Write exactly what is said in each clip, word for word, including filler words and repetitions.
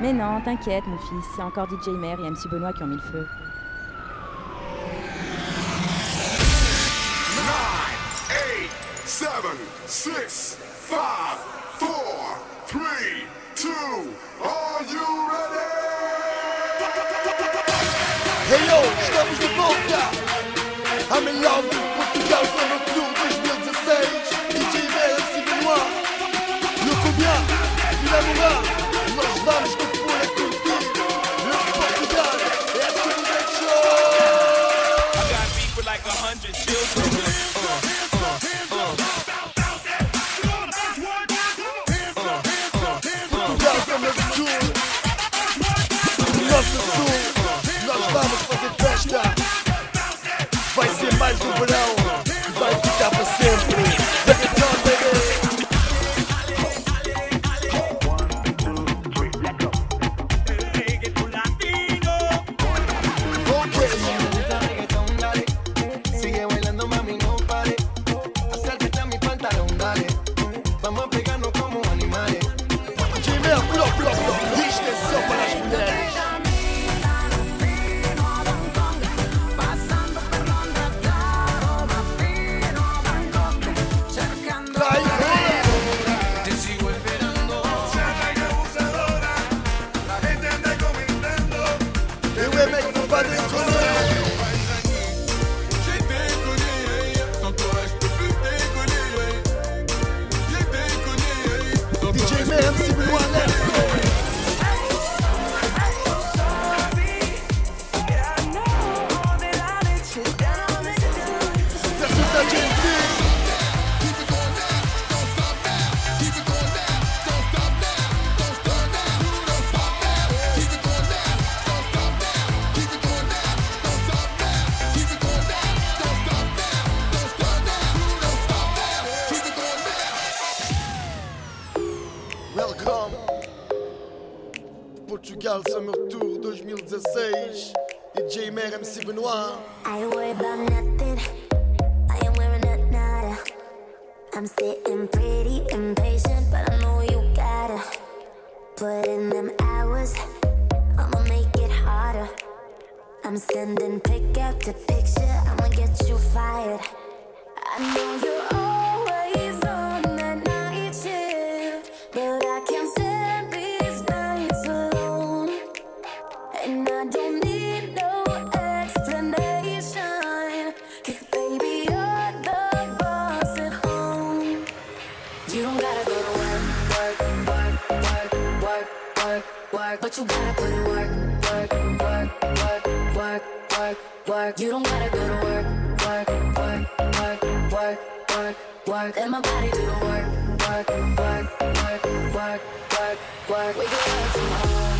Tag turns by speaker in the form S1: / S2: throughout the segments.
S1: Mais non, t'inquiète mon fils, c'est encore D J Mer et M C Benoît qui ont mis le feu.
S2: nine, eight, seven, six, five, four, three, two, are you ready?
S3: Hey yo, estamos de volta! I'm in love with Portugal, Summer Tour dois mil e dezesseis. D J Mer, M C Benoît, Louco Bien, Vila Moura. Nós vamos te pôr a curtir no Portugal. É a Trinidad Show.
S4: I got beef with like a hundred children.
S3: Portugal, Summer Tour. Nosso sul, nós vamos fazer festa. Vai ser mais um verão que vai ficar para sempre. Reggaeton, baby. Portugal Summer Tour dois mil e dezesseis. D J Mer, M C Benoît.
S5: I ain't worried about nothing. I ain't wearing a nada. I'm sitting pretty impatient, but I know you gotta put in them hours. I'ma make it harder. I'm sending pick after picture. I'ma get you fired. I know you're always on that night shift, but I can't stand these nights alone. And I don't need no explanation, 'cause baby you're the boss at home. You don't gotta go to work, work, work, work, work, work, work, but you gotta put in work, work, work, work, work, work, work. You don't gotta go to work, work, work, work, work, work, work. Let my body do the work, work, work, work, work, work, work. We can work from home.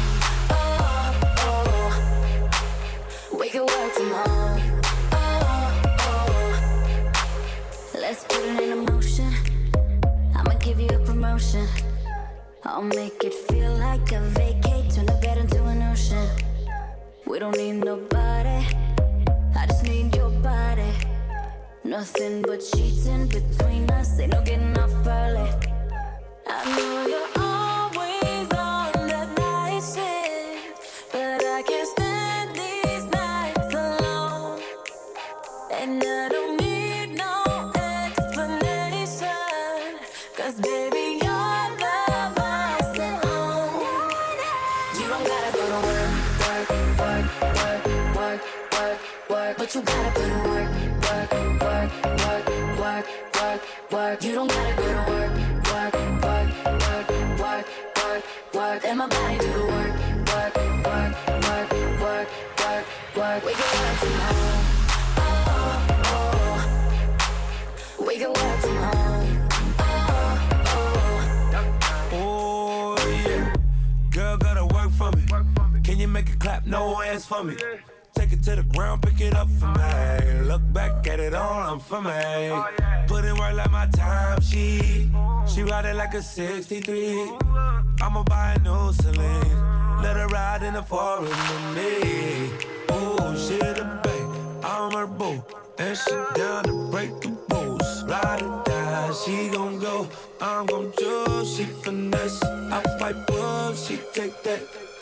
S5: We can work from home. Oh, oh. Let's put it in motion. I'ma give you a promotion. I'll make it feel like a vacate, turn the bed into an ocean. We don't need nobody, I just need your body. Nothing but sheets in between us, ain't no getting off early. I know you're always on that night shift, but I can't stand these nights alone. And I don't need no explanation, 'cause baby you're the boss at home. You don't gotta go to work, work, work, work, work, work, work, but you gotta put in work, work, work, work, work, work, work. You don't gotta go to work, work, work, work, work, work, work. Let my body do the work, work, work, work, work, work, work. We can work from home. Oh, oh. We can work from home. Oh, oh.
S4: Oh yeah, girl gotta work for me. Can you make it clap? No hands for me. Take it to the ground, pick it up for me. Look back at it all, I'm for me. Put in work like my time sheet. She ride it like a sixty-three. I'ma buy a new Celine. Let her ride in the foreign with me. Oh, she the babe, I'm her boo. And she down to break the rules. Ride or die, she gon' go. I'm gon' choose, she finesse. I fight bull, she take that.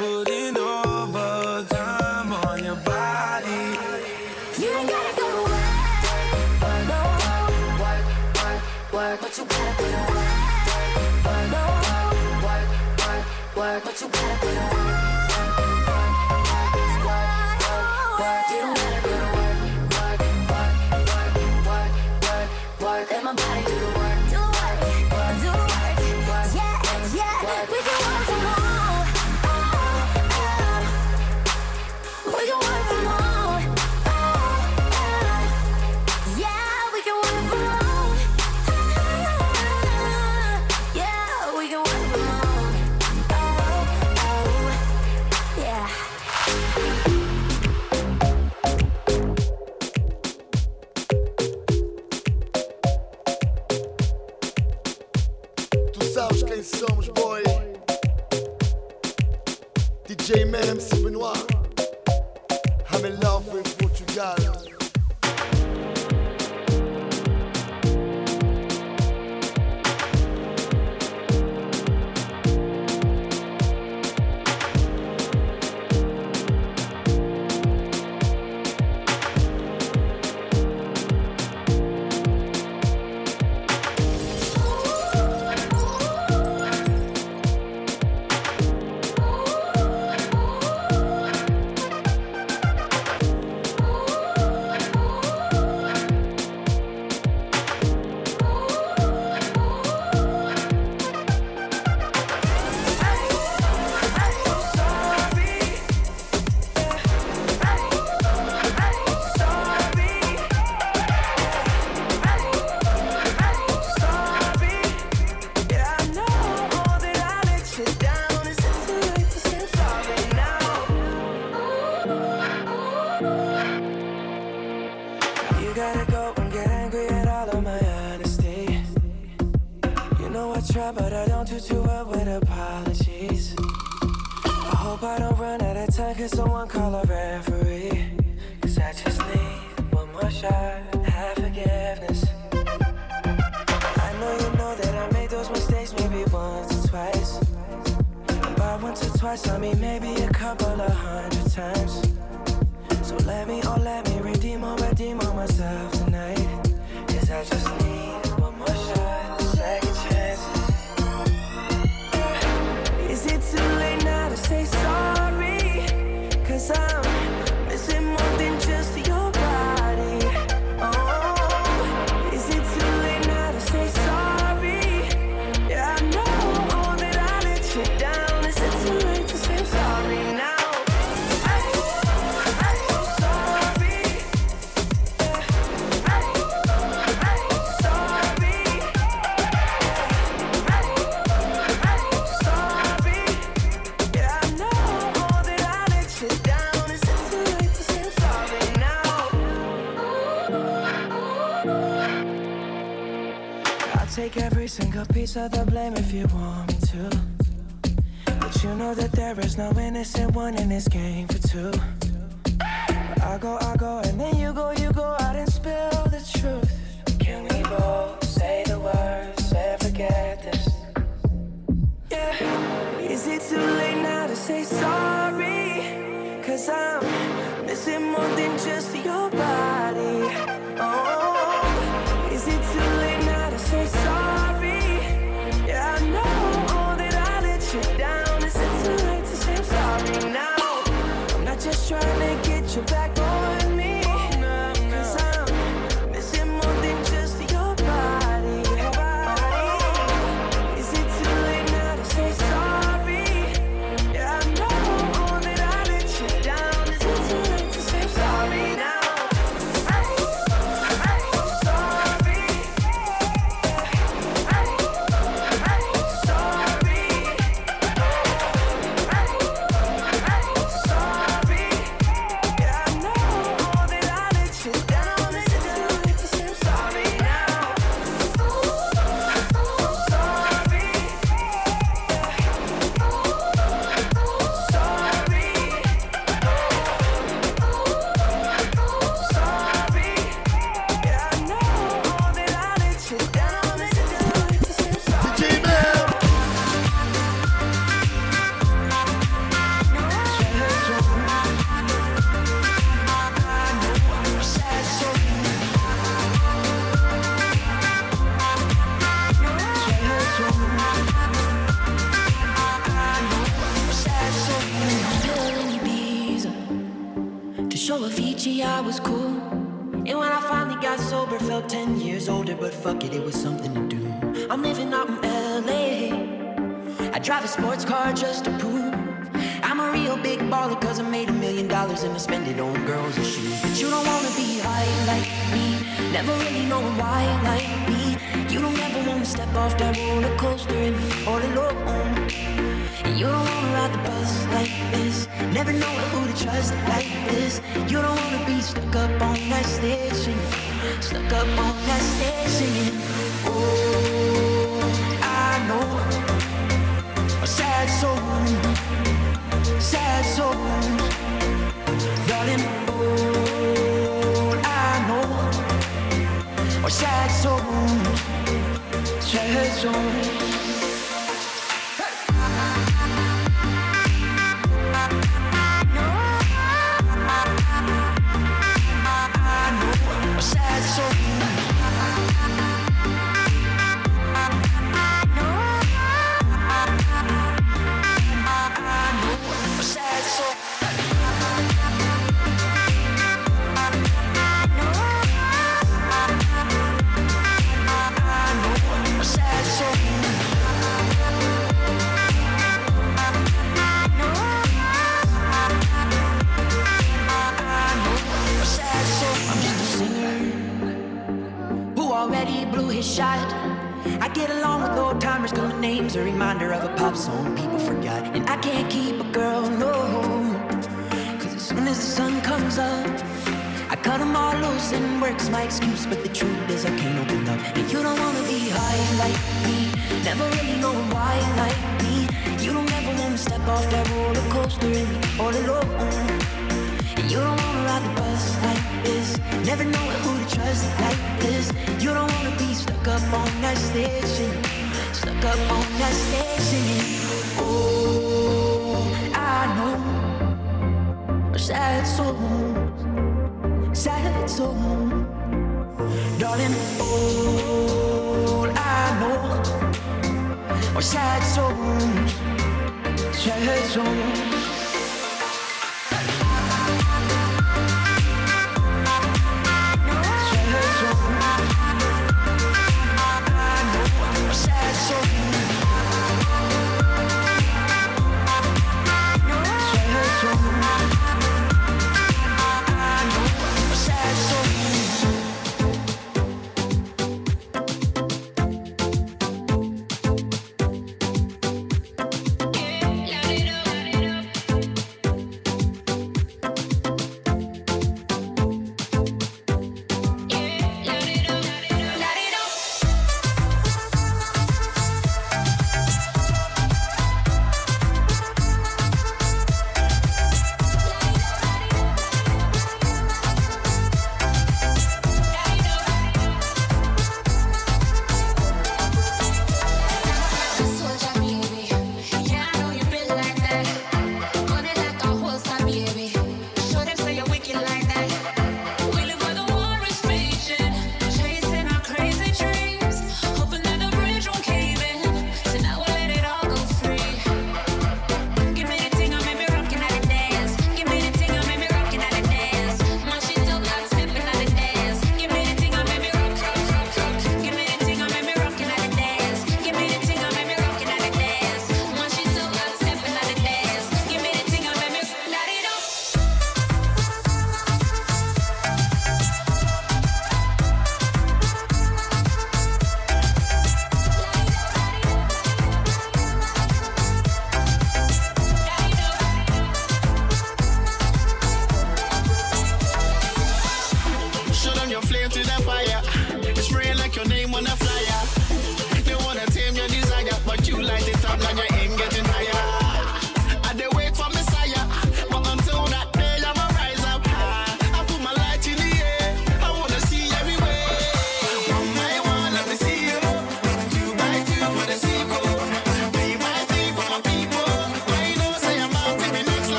S4: putting overtime on your body.
S5: You don't gotta go to work, work, no, work, work, work, but you gotta put in work, work, no, work, work, work, but you gotta put in work, work, work, work, work, work. You don't gotta go to work, work, work, work, work, work, work. Let my body do the work, do the work, work, do the work, work, yeah, yeah. We can work from home, oh, oh. We can work from home.
S3: Somos, boy. D J Man, M C Benoit. I'm in love with Portugal.
S4: But I don't do too well with apologies. I hope I don't run out of time. Can someone call a referee? Cause I just need one more shot, have forgiveness. I know you know that I made those mistakes maybe once or twice. And by once or twice I mean maybe a couple of hundred times. So let me, oh let me redeem or redeem on myself tonight. Cause I just need one more shot, second chance. Is it too late now to say sorry? Cause I'm missing more than just your body. Oh, is it too late now to say sorry? Yeah, I know that I let you down. Is it too late to say sorry now? I'm so sorry. Yeah. I'm sorry. Take every single piece of the blame if you want me to. But you know that there is no innocent one in this game for two. But I go, I go, and then you go, you go out and spill the truth. Can we both say the words and forget this? Yeah. Is it too late now to say sorry? Cause I'm missing more than just your body. Oh, is it too late now to say sorry? Yeah, I know that I let you down. Is it too late to say I'm sorry now? I'm not just trying to get you back on me. Cause I'm
S6: Gucci, I was cool. And when I finally got sober, felt ten years older, but fuck it, it was something to do. I'm living out in L A. I drive a sports car just to prove I'm a real big baller, cause I made a million dollars and I spend it on girls and shoes. But you don't wanna be high like me, never really know why like me. You don't ever wanna step off that roller coaster and be all alone. And you don't wanna ride the bus like this, never know who to trust like this. You don't wanna be stuck up on that stage singing, stuck up on that stage singing. Oh, I know a sad soul, sad soul, darling. All I know are sad souls, sad souls. Shot. I get along with old timers cause my name's a reminder of a pop song people forgot. And I can't keep a girl, no, cause as soon as the sun comes up I cut them all loose and work's my excuse. But the truth is I can't open up. And you don't wanna be high like me, never really know why like me. You don't ever wanna step off that roller coaster and be all alone. And you don't wanna ride the bus like this, never know who to trust like this. You don't wanna be stuck up on that stage singing, stuck up on that stage singing. Oh, I know sad souls, sad souls, darling. All I know are sad souls, sad souls.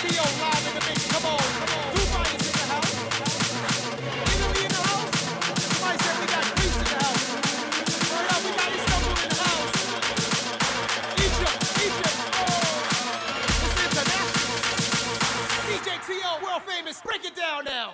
S7: T O live in the mix. Come on. Dubai is in the house. Italy in the house. Somebody said we got Greece in the house. Word up, we got Istanbul in the house. Egypt, Egypt. Oh, it's international. D J T O, world famous. Break it down now.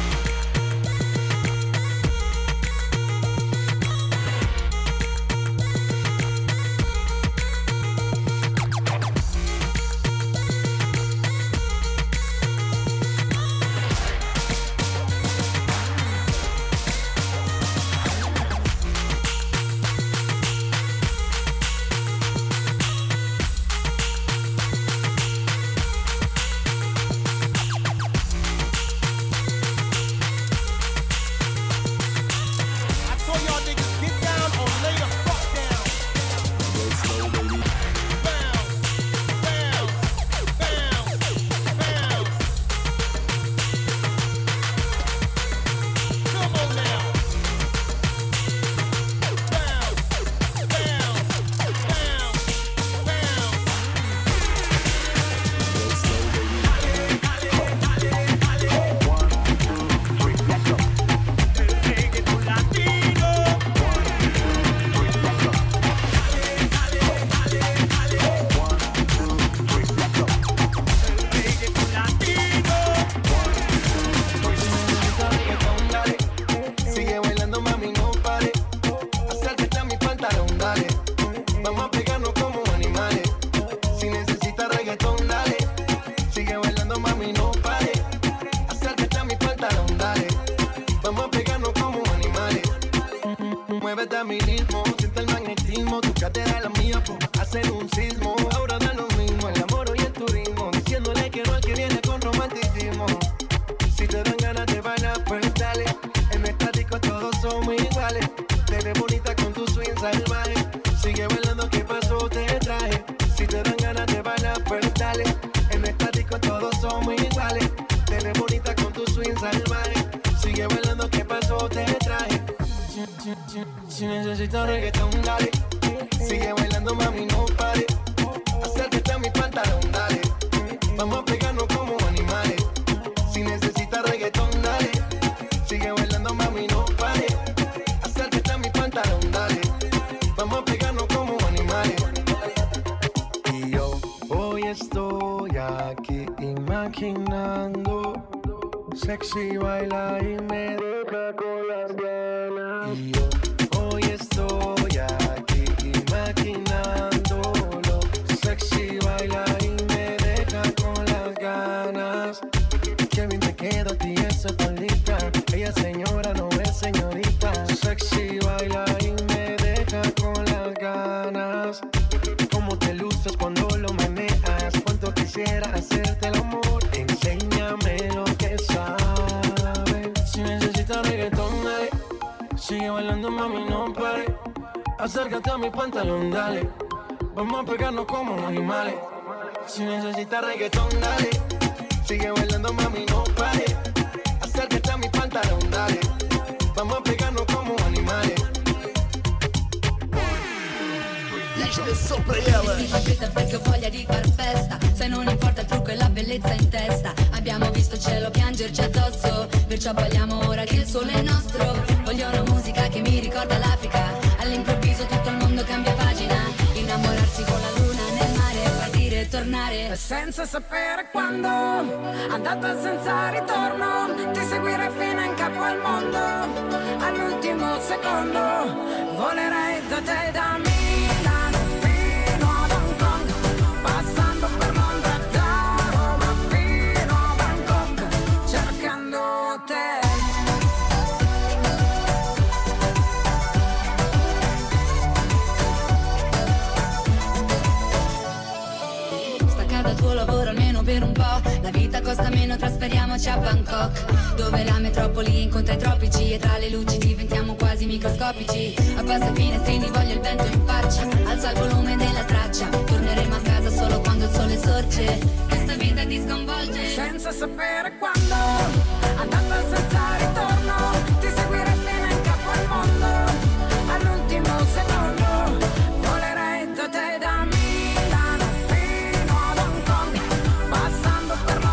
S3: Muévete a mi ritmo, siente el magnetismo, tu cadera es la mía, po, hacen un sismo. Ahora da lo mismo, el amor y el turismo, diciéndole que no al que viene con romanticismo. Si te dan ganas de bailar, pues dale. En esta disco todos somos iguales. Te ves bonita con tu swing salvaje. Sigue bailando, ¿qué pasó? Te traje. Si te dan ganas de bailar, pues dale. En esta disco todos somos iguales. Te ves bonita con tu swing salvaje. Sigue bailando, ¿qué pasó? Te traje. Si necesitas reggaetón, dale. Sigue bailando, mami, no pare. Acércate a mi pantalón, dale. Vamos a pegarnos como animales. Si necesitas reggaetón, dale. Sigue bailando, mami, no pare. Acércate a mi pantalón, dale. Vamos a pegarnos como animales. Y yo hoy estoy aquí imaginando. Sexy baila y me deja con las ganas. Y yo hoy estoy aquí imaginándolo. Sexy baila y me deja con las ganas. Qué bien te queda a ti esa faldita. Ella señora no es señorita. Sexy baila y me deja con las ganas. Cómo te luces cuando lo manejas. Cuánto quisiera hacerte el amor. Enséñame lo que sabes. Si necesitas reggaetón, dale. Sigue bailando, mami, no pare. Acércate a mi pantalón, dale. Vamos a pegarnos como animales. Si necesitas reggaetón, dale. Sigue bailando, mami, no pare. Acércate a mi pantalón, dale. Vamos a pegarnos como animales.
S8: Vestiti fa fretta perché ho voglia di far festa. Se non importa il trucco e la bellezza in testa. Abbiamo visto il cielo piangerci addosso. Perciò balliamo ora che il sole è nostro. Voglio una musica che mi ricorda l'Africa. All'improvviso tutto il mondo cambia pagina. Innamorarsi con la luna nel mare. Partire e tornare senza sapere quando. Andata senza ritorno. Ti seguirei fino in capo al mondo. All'ultimo secondo volerei da te e da me. Per un po', la vita costa meno, trasferiamoci a Bangkok, dove la metropoli incontra i tropici e tra le luci diventiamo quasi microscopici. Abbassa i finestrini, voglio il vento in faccia, alza il volume della traccia, torneremo a casa solo quando il sole sorge. Questa vita ti sconvolge senza sapere quando. Andata senza ritorno, ti seguirei fino in capo al mondo. All'ultimo secondo volerei da te e da me. Passando per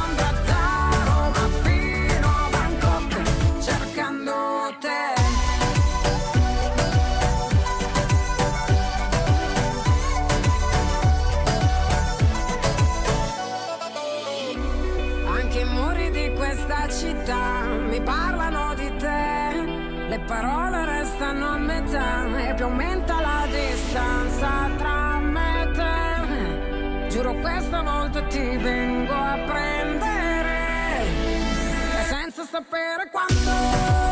S9: Anche i muri di questa città mi parlano di te. Le parole restano a metà e più aumenta la distanza tra me e te. Giuro questa volta ti vengo a prendere e senza sapere quando.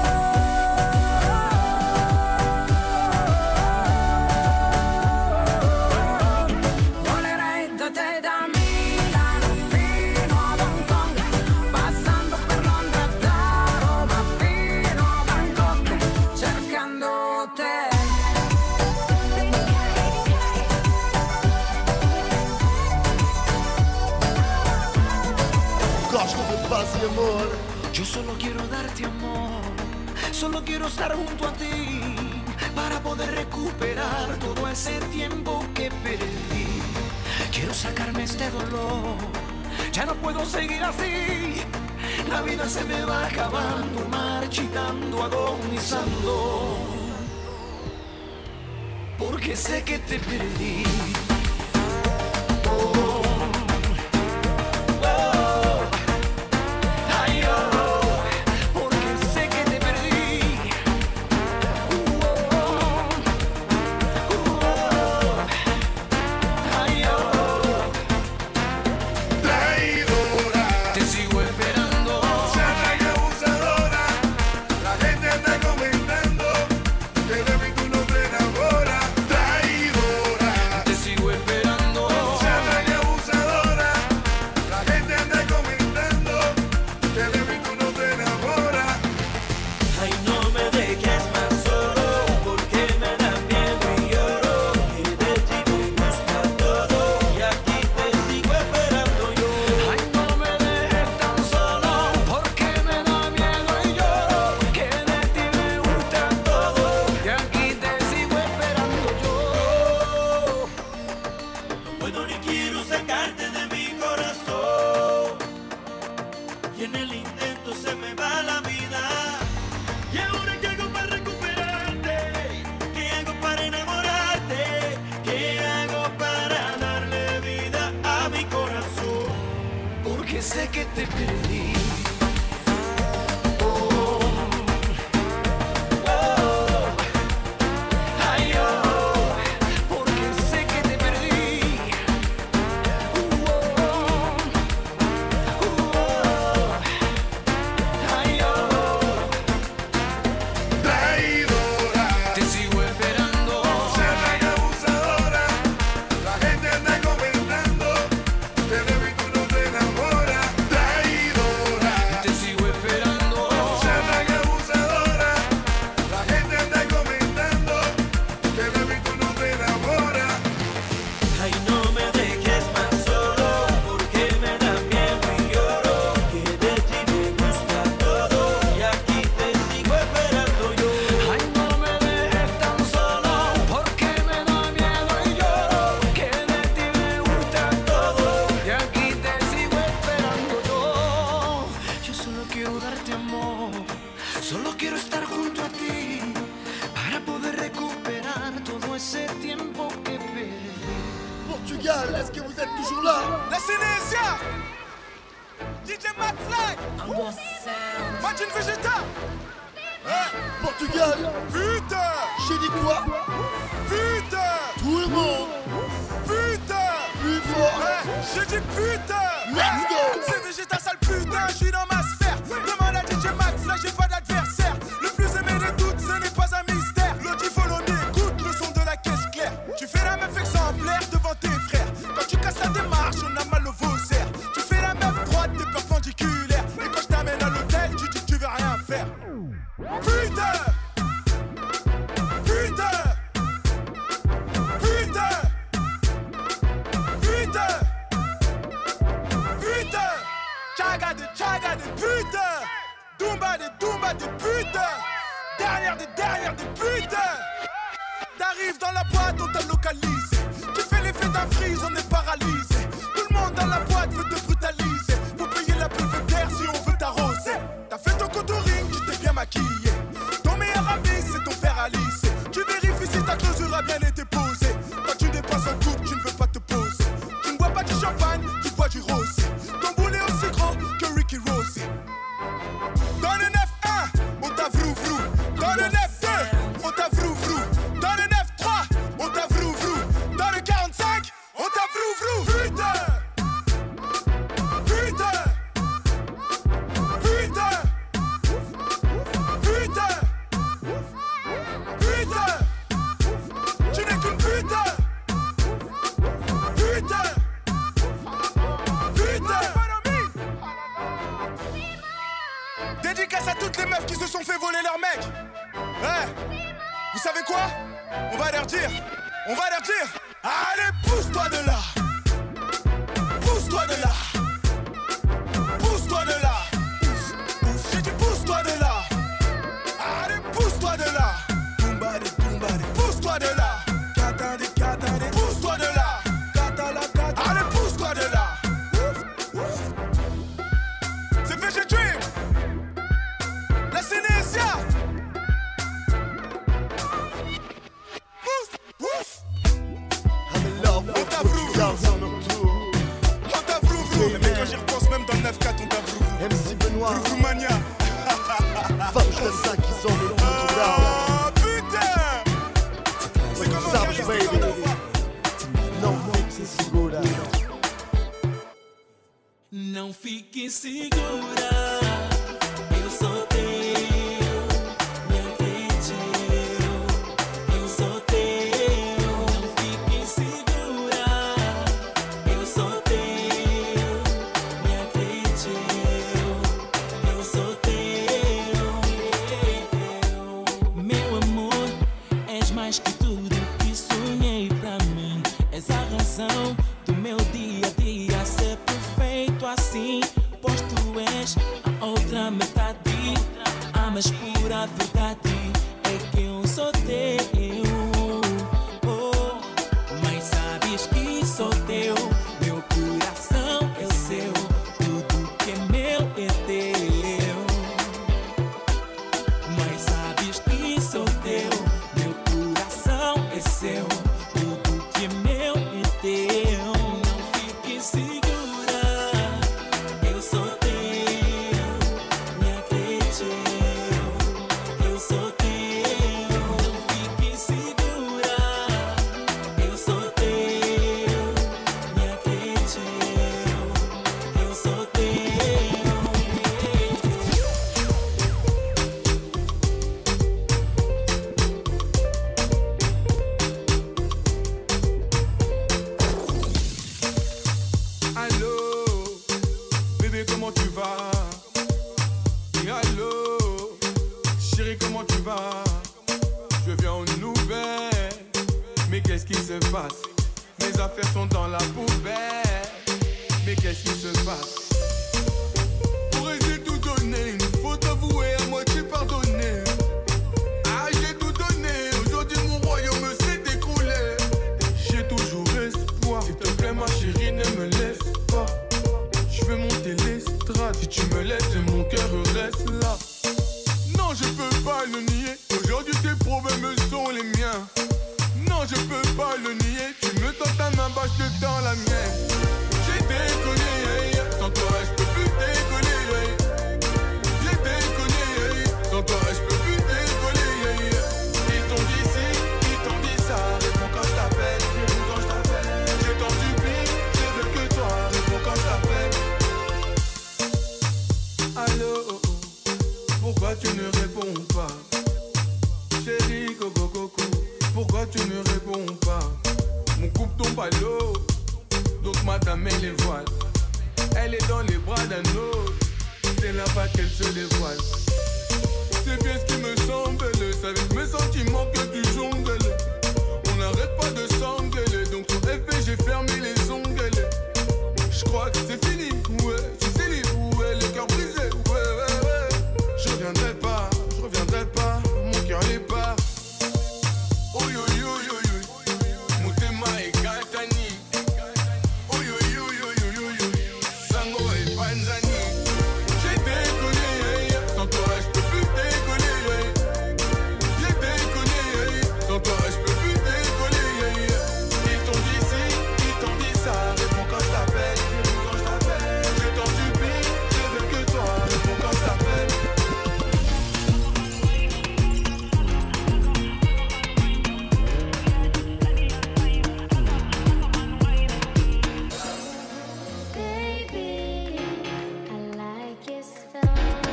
S6: Yo solo quiero darte amor, solo quiero estar junto a ti para poder recuperar todo ese tiempo que perdí. Quiero sacarme este dolor, ya no puedo seguir así. La vida se me va acabando, marchitando, agonizando, porque sé que te perdí. Oh. Sé que te perdí. Oh, oh, ay, oh, porque sé que te perdí. Oh, oh, ay, oh,
S3: traidora,
S6: te sigo esperando.
S3: Sana y abusadora, la gente anda comentando, te debo y tú no te enamoras.
S10: Est-ce que vous êtes toujours là?
S7: La Sénésia, D J McFly, Martin Vegeta,
S10: hein? Portugal,
S7: putain,
S10: j'ai dit quoi?
S7: Putain,
S10: tout le monde,
S7: putain,
S10: plus fort,
S7: hein? J'ai dit putain,
S10: let's go.
S7: C'est Vegeta sale putain, je suis dans ma sphère. Demande à D J McFly, j'ai pas d'adversaire. Le plus aimé de toutes, ce n'est pas un mystère. L'autre il faut l'aimer, écoute le son de la caisse claire. Tu fais la meuf exemplaire devant tes frères. Quand tu casses la démarche, on a mal au vaussaire. Tu fais la meuf droite, t'es perpendiculaire. Et quand je t'amène à l'hôtel, tu dis que tu veux rien faire. Putain, putain, putain, putain, putain, Chaga de chaga de putain, Dumba de Dumba de putain, derrière des derrière des putains. T'arrives dans la boîte, on t'a localisé. Tu fais l'effet d'un freeze, on est paralysé. Tout le monde dans la boîte veut te brutaliser. Faut payer la belvédère si on veut t'arroser. T'as fait ton contouring, tu t'es bien maquillé. Ton meilleur ami, c'est ton frère Alice. Tu vérifies si ta clôture a bien été posée. Quand tu dépasses un couple, tu ne veux pas te poser. Tu ne bois pas du champagne, tu bois du rosé. Ton boulet aussi gros que Ricky
S11: Dédicace à toutes les meufs qui se sont fait voler leur mec. Ouais. Vous savez quoi? On va leur dire. On va leur dire. Allez, pousse-toi de là. Pousse-toi de là. Pousse-toi de là. J'ai dit pousse-toi de là. Allez, pousse-toi de là. Tumbade, tumbade. Pousse-toi de là. Katade, katade. Pousse-toi de là. Katala, katala. Allez, pousse-toi de là. C'est F G Dream. La Sénésia. Pousse, pousse.
S3: I'm in love with Portugal, c'est notre tour.
S11: On t'a vrou vrou. Mais quand j'y repense, même dans le neuf quatre, on t'a vrou vrou.
S3: M C Benoît.
S11: Vrou vrou mania.
S3: Vamos dançar que são no Portugal.
S11: Ah, putain. C'est comme ça, baby.
S3: Não fique segura.
S4: Não fique segura. Eu sou teu. Me acredito. Eu sou teu. Não fique segura. Eu sou teu. Me acredito. Eu sou teu. Meu amor, és mais que tudo que sonhei pra mim. És a razão do meu dia a dia ser perfeito assim. Pois tu és a outra metade. Amas pura verdade. É que eu sou teu. Oh, mas sabes que sou teu. Meu coração é seu. Tudo que é meu é teu. Mas sabes que sou teu. Meu coração é seu. Tudo que é meu é teu. Não fique segura. Eu sou teu. Me acredito. Eu sou teu. Não fique segura. Eu sou teu. Me acredito. Eu sou teu.
S11: Allô, bébé, comment tu vas? Et allô, chérie, comment tu vas? Je viens aux nouvelles, mais qu'est-ce qui se passe? Mes affaires sont dans la poubelle, mais qu'est-ce qui se passe? Pourrais-je tout donner? Une faute avouée, à moitié pardonnée. Ah, j'ai tout donné, aujourd'hui mon royaume s'est écroulé. J'ai toujours espoir, s'il te plaît ma chérie, ne me laisse pas. Je veux monter l'estrade, si tu me laisses, mon cœur reste là. Non, je peux pas le nier, aujourd'hui tes problèmes sont les miens. Non, je peux pas le nier, tu me tends ta main, bah je te tends la mienne. J'ai déconné, hey, sans toi je peux plus décoller. Hey. J'ai déconné, hey, sans toi je peux plus décoller. Hey. Ils t'ont dit ci, ils t'ont dit ça, réponds quand je t'appelle, réponds quand je t'appelle. Je t'en supplie, je veux que toi, réponds quand je t'appelle. Allô, oh, oh, pourquoi tu ne réponds pas? Chérie, coco, coco, pourquoi tu ne réponds pas? Mon couple tombe à l'eau, donc madame elle les voile. Elle est dans les bras d'un autre, c'est là-bas qu'elle se dévoile. C'est bien ce qui me semble, c'est avec mes sentiments que tu jongles. On n'arrête pas de s'engueuler, donc sur F P j'ai fermé les ongles. Je crois que c'est fini, ouais, je suis libre, ouais, le cœur brisé, ouais, ouais, ouais. Je reviendrai pas, je reviendrai pas, mon cœur les part. Oh yo yo yo yo, Mutema et Katani. Oh yo yo yo yo yo yo, Sango et Panzani. J'ai déconné, hey, sans toi je peux plus décoller. Hey. J'ai déconné, hey, sans toi je peux plus décoller. Hey. Ils t'ont dit ci, ils t'ont dit ça, réponds quand je t'appelle, réponds quand je t'appelle. Je t'en supplie, je veux que toi, réponds quand je t'appelle.
S5: Baby, I like your style.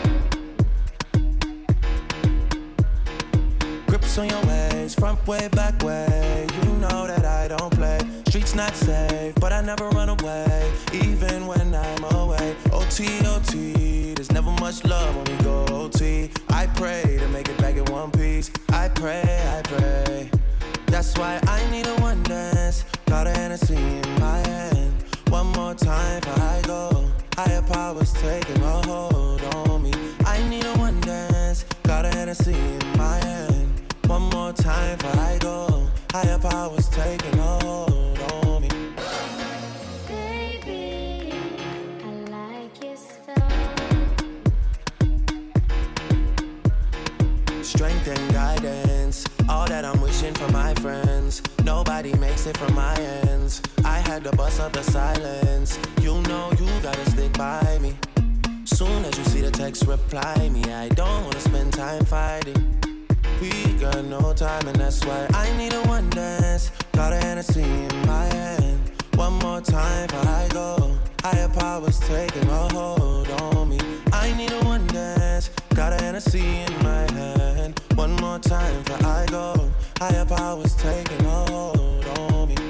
S4: Grips on your ways, front way, back way. You know that I don't play. Streets not safe, but I never run away, even when I'm away. O T, O T, there's never much love when we go O T.
S12: T. I pray to make it back in one piece. I pray, I pray. That's why I need a one dance. Got a Hennessy in my hand. One more time before I go. Higher powers taking a hold on me. I need a one dance. Got a Hennessy in my hand. One more time before I go. Higher powers taking a hold on me.
S5: Baby, I like your style.
S12: Strength and guidance, all that I'm wishing for my friends. Nobody makes it from my ends. I had to bust up the silence. You know you gotta stick by me. Soon as you see the text, reply me. I don't wanna spend time fighting. We got no time and that's why I need a one dance. Got a Hennessy in my hand. One more time before I go. Higher powers taking a hold on me. I need a one dance. Got a Hennessy in my hand. One more time before I go. Higher powers taking a hold on me.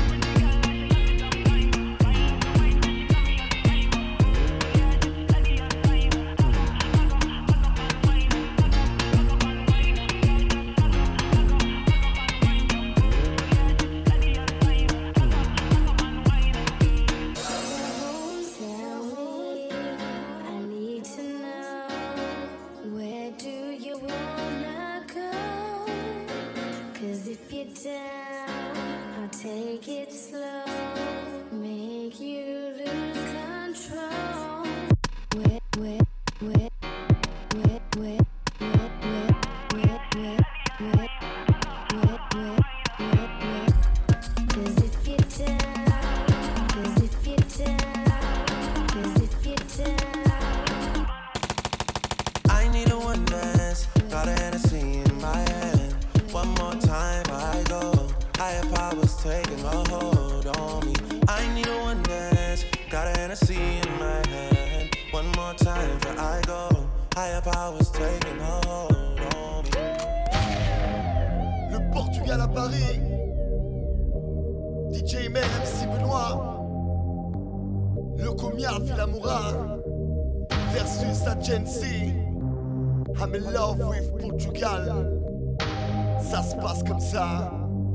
S5: Take it slow, make you lose control. Wait, wait, wait, wait, wait, wait, wait, wait, wait, wait, wait, wait, wait, wait. 'Cause if you're down, 'cause if you're down, 'cause if you're down.
S12: I need a one dance, got a Hennessy in my hand. One more time before I go. Higher powers taking a hold on me. I need a one dance. Got a Hennessy in my hand. One more time before I go. Higher powers taking a hold on me.
S10: Le Portugal à Paris. D J Mer, M C Benoît. Le Comiar, Filamoura. Versus Agency. I'm in love with Portugal. Ça se passe comme ça.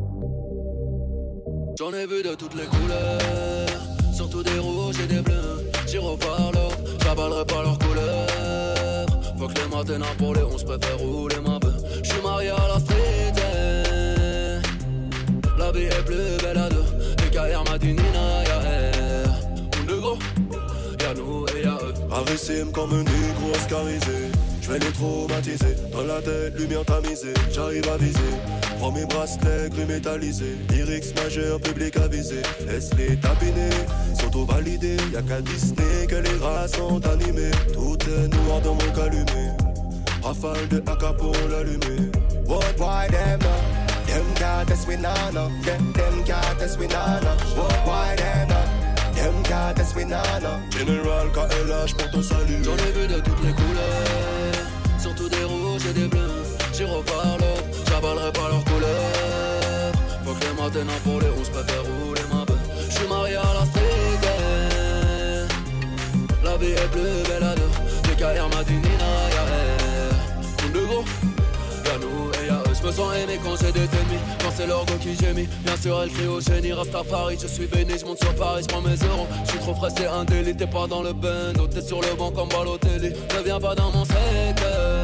S13: J'en ai vu de toutes les couleurs, surtout des rouges et des bleus. J'irai par l'eau, j'avalerai pas leurs couleurs. Faut que les matins pour les onze préfère rouler ma peu. J'suis marié à la street, eh. La vie est plus belle à deux. Les carrières m'a dit Nina, y'a elle. On est gros, y'a nous et y'a eux.
S14: Agressime comme un négro oscarisé. J'vais les traumatiser, dans la tête, lumière tamisée. J'arrive à viser. Prends mes bracelets gris métallisés, lyrics majeurs, public avisé. Laisse-les tapiner, s'auto-valider. Y'a qu'à Disney que les rats sont animés. Tout est noir dans mon calumet. Rafale de A K pour l'allumer.
S15: What why them no? Them can't test we nana. Them them can't test we nana. What why them no? Them can't test we nana.
S14: General K L H pour ton salut.
S13: J'en ai vu de toutes les couleurs, surtout des rouges et des bleus. J'irai par l'eau, j'avalerai pas leurs couleurs. Faut que les matins pour les onze préfère rouler ma peu. J'suis marié à la street, eh. La vie est plus belle à deux. Les carrières m'a dit Nina, y'a elle. On est gros, y'a nous et y'a eux. J'me sens aimé quand j'ai des ennemis, quand c'est leur go qui gémit. Bien sûr elle crie au génie, Rastafari. Je suis béni, j'monte sur Paris, j'prends mes euros. J'suis trop frais, c'est un délit. T'es pas dans le bando, t'es sur le banc comme Balotelli. Ne viens pas dans mon secteur.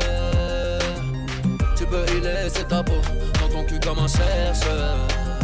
S13: Tu peux y laisser ta peau dans ton cul comme un chercheur.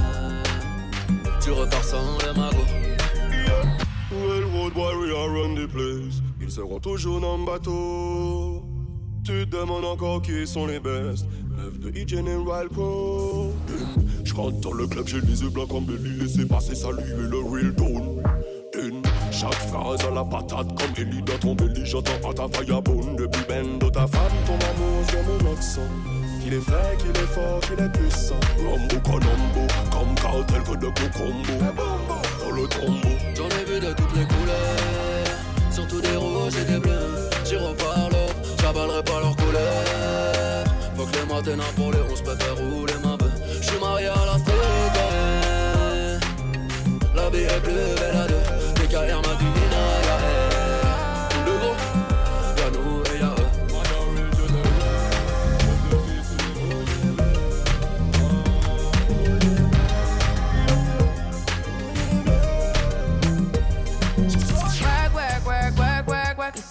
S13: Tu repars sans le magot.
S14: Yeah. Railroad warrior run the place. Ils seront toujours dans le bateau. Tu te demandes encore qui sont les best. Neuf de E General Co. Je rentre dans le club, j'ai les yeux blancs comme Belly. Laissez passer, saluer le real tone. Chaque phrase à la patate comme Ellie dans ton belly. J'entends à ta firebone depuis bendo. Ta femme, ton amour sur mon accent. Qu'il est vrai, qu'il est fort, qu'il est puissant. Rambo, Colombo, comme cartel que de Cocombo. Dans le tombeau.
S13: J'en ai vu de toutes les couleurs, surtout des rouges et des bleus. J'irai par l'eau, j'avalerai pas leurs couleurs. Faut que les matins pour les onze préfère rouler ma peu. J'suis marié à la street, eh. La vie est plus belle à deux. Les carrières m'a dit Nina, y'a elle. Le gros, y'a nous et y'a eux.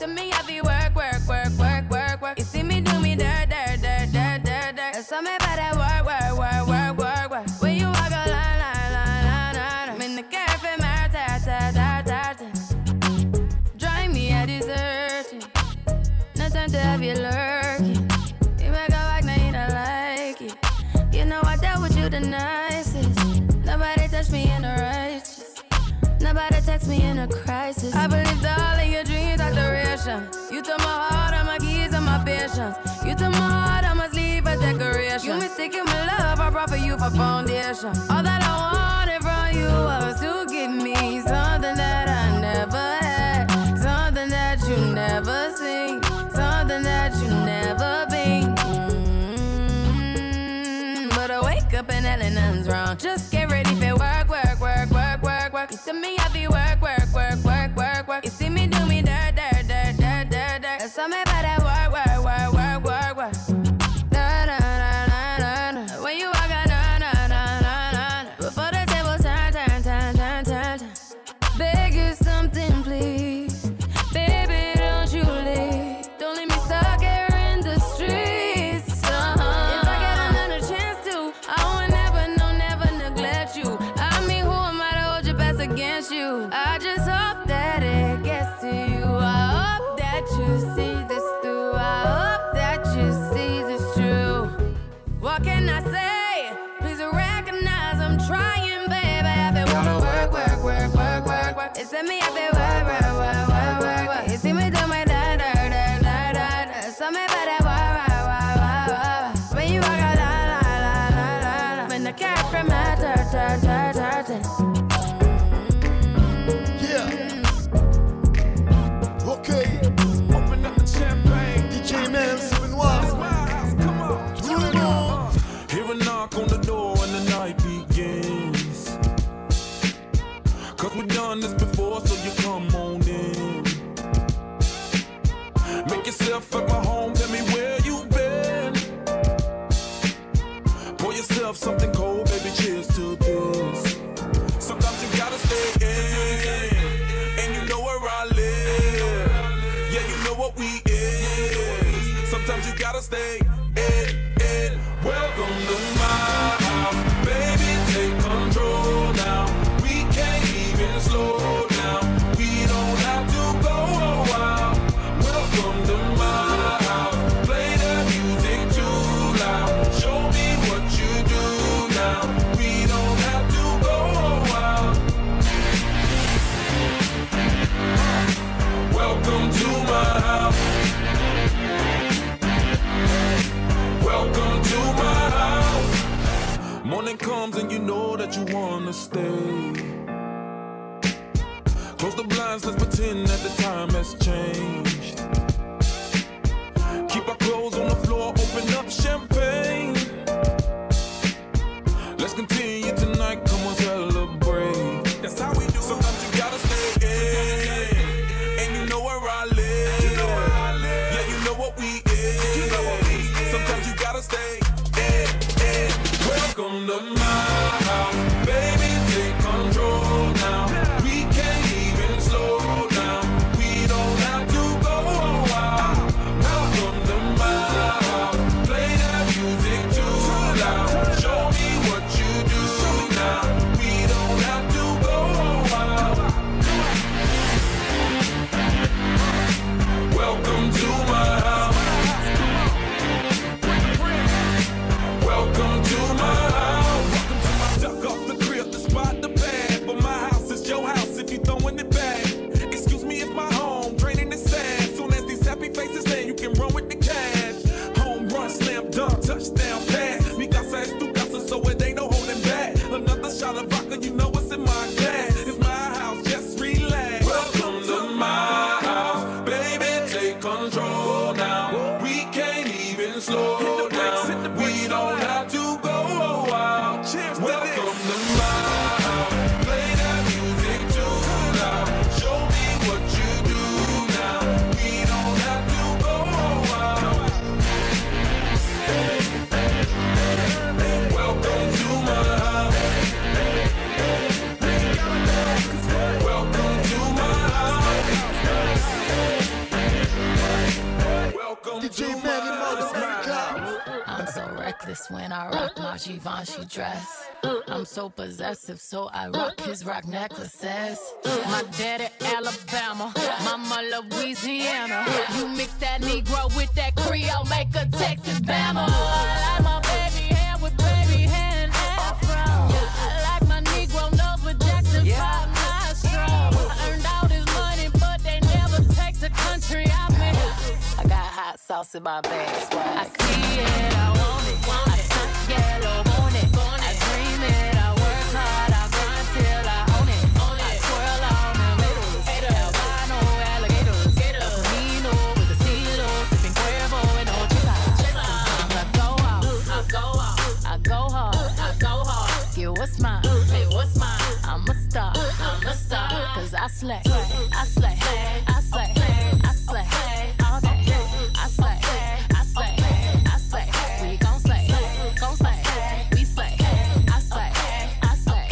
S16: to me, I be work, work, work, work, work, work. You see me do me dirt, dirt, dirt, dirt, dirt, dirt. There's something about that work, work, work, work, work, work. When you walk a line, line, line, line, line. I'm in the cafe, my ta, ta, ta, ta, ta. Drive me a desertion. No time to have you lurking. You make a walk, now you don't like it. You know I dealt with you the nicest. Nobody touched me in the righteous. Nobody text me in a crisis. I believed all of your dreams are duration. You took my heart, all my keys, and my patience. You took my heart, I must leave a decoration. You mistaken my love, I brought for you for foundation. All that I wanted from you was to give me something that I never had, something that you never seen, something that you never been. Mm-hmm. But I wake up and hell and nothing's wrong. Just get ready for work, work, work, work, work, work. You see me, I be work, work, work, work, work, work. You see me do me dirt, dirt, dirt, dirt, dirt, dirt. There's something about that work, work, work, work, work, work. Da, da, da, da, da, da. When you walk out, da, da, da, da, da, da. Before the table turn, turn, turn, turn, turn, turn. Beg you something, please. Baby, don't you leave. Don't leave me stuck here in the streets. Uh-huh. If I get another chance to, I would never, no, never neglect you. I mean, who am I to hold your best against you? I just hope that it gets to you. I hope that you see this through. I hope that you see this true. What can I say? Please recognize I'm trying, baby. I've been wanna work, work, work, work, work, work. It's in me, I've been work, work, work, work, work, work. You see me do my da, da, da, da, da, da. Something about that work, work, work, work, work. When you walk out, la, la, la, la, la, la. When the cat from my ta, ta, ta, ta, ta.
S11: Open up the champagne.
S10: D J Mel, c'est Benoît.
S11: Tout le monde. Hear a knock on the door and the night begins. Cause we've done this before, so you come on in. Make yourself at my home, tell me where you've been. Pour yourself something cold, baby, cheers to this. Sometimes you gotta stay in, and you know where I live. Yeah, you know what we is. Sometimes you gotta stay in, in. Welcome to my house, baby, take control now. We can't even slow down. We don't have to go a while. Welcome to my house. Play the music too loud. Show me what you do now. We don't have to go a while. Welcome to my house. Welcome to my house. Morning comes and you know that you wanna stay. Close the blinds, let's pretend that the time has changed. Keep our clothes on the floor, open up champagne. Let's continue tonight, come on, celebrate. That's how we do it. Sometimes you gotta stay in, and you know where I live. You know where I live. Yeah, you know what we is. You know what we is. Sometimes you gotta stay in, in. Welcome to my house, baby, take control now. We can't even slow down. We don't
S17: when I rock my Givenchy dress. I'm so possessive, so I rock his rock necklaces. My daddy Alabama, mama Louisiana. You mix that Negro with that Creole, make a Texas Bama. I like my baby hair with baby hair and afro. I like my Negro nose with Jackson five nostrils. I earned all this money, but they never take the country out me. I got hot sauce in my bag, so I see it, I want it. I stunt yellow, want it. I dream it, I work hard, I grind till I own it. I twirl on them haters, albino alligators. El Camino with the CeeLo, sipping Cuervo and Ochita. Sometimes I go out, I go out, I go hard, I go hard. Get what's mine, hey, what's mine? I'm a star, I'm a star. Cause I slay, I slay, I slay, I slay. All day, I slay, I slay, I slay. We gon' slay, gon' slay. We slay, I slay, I slay.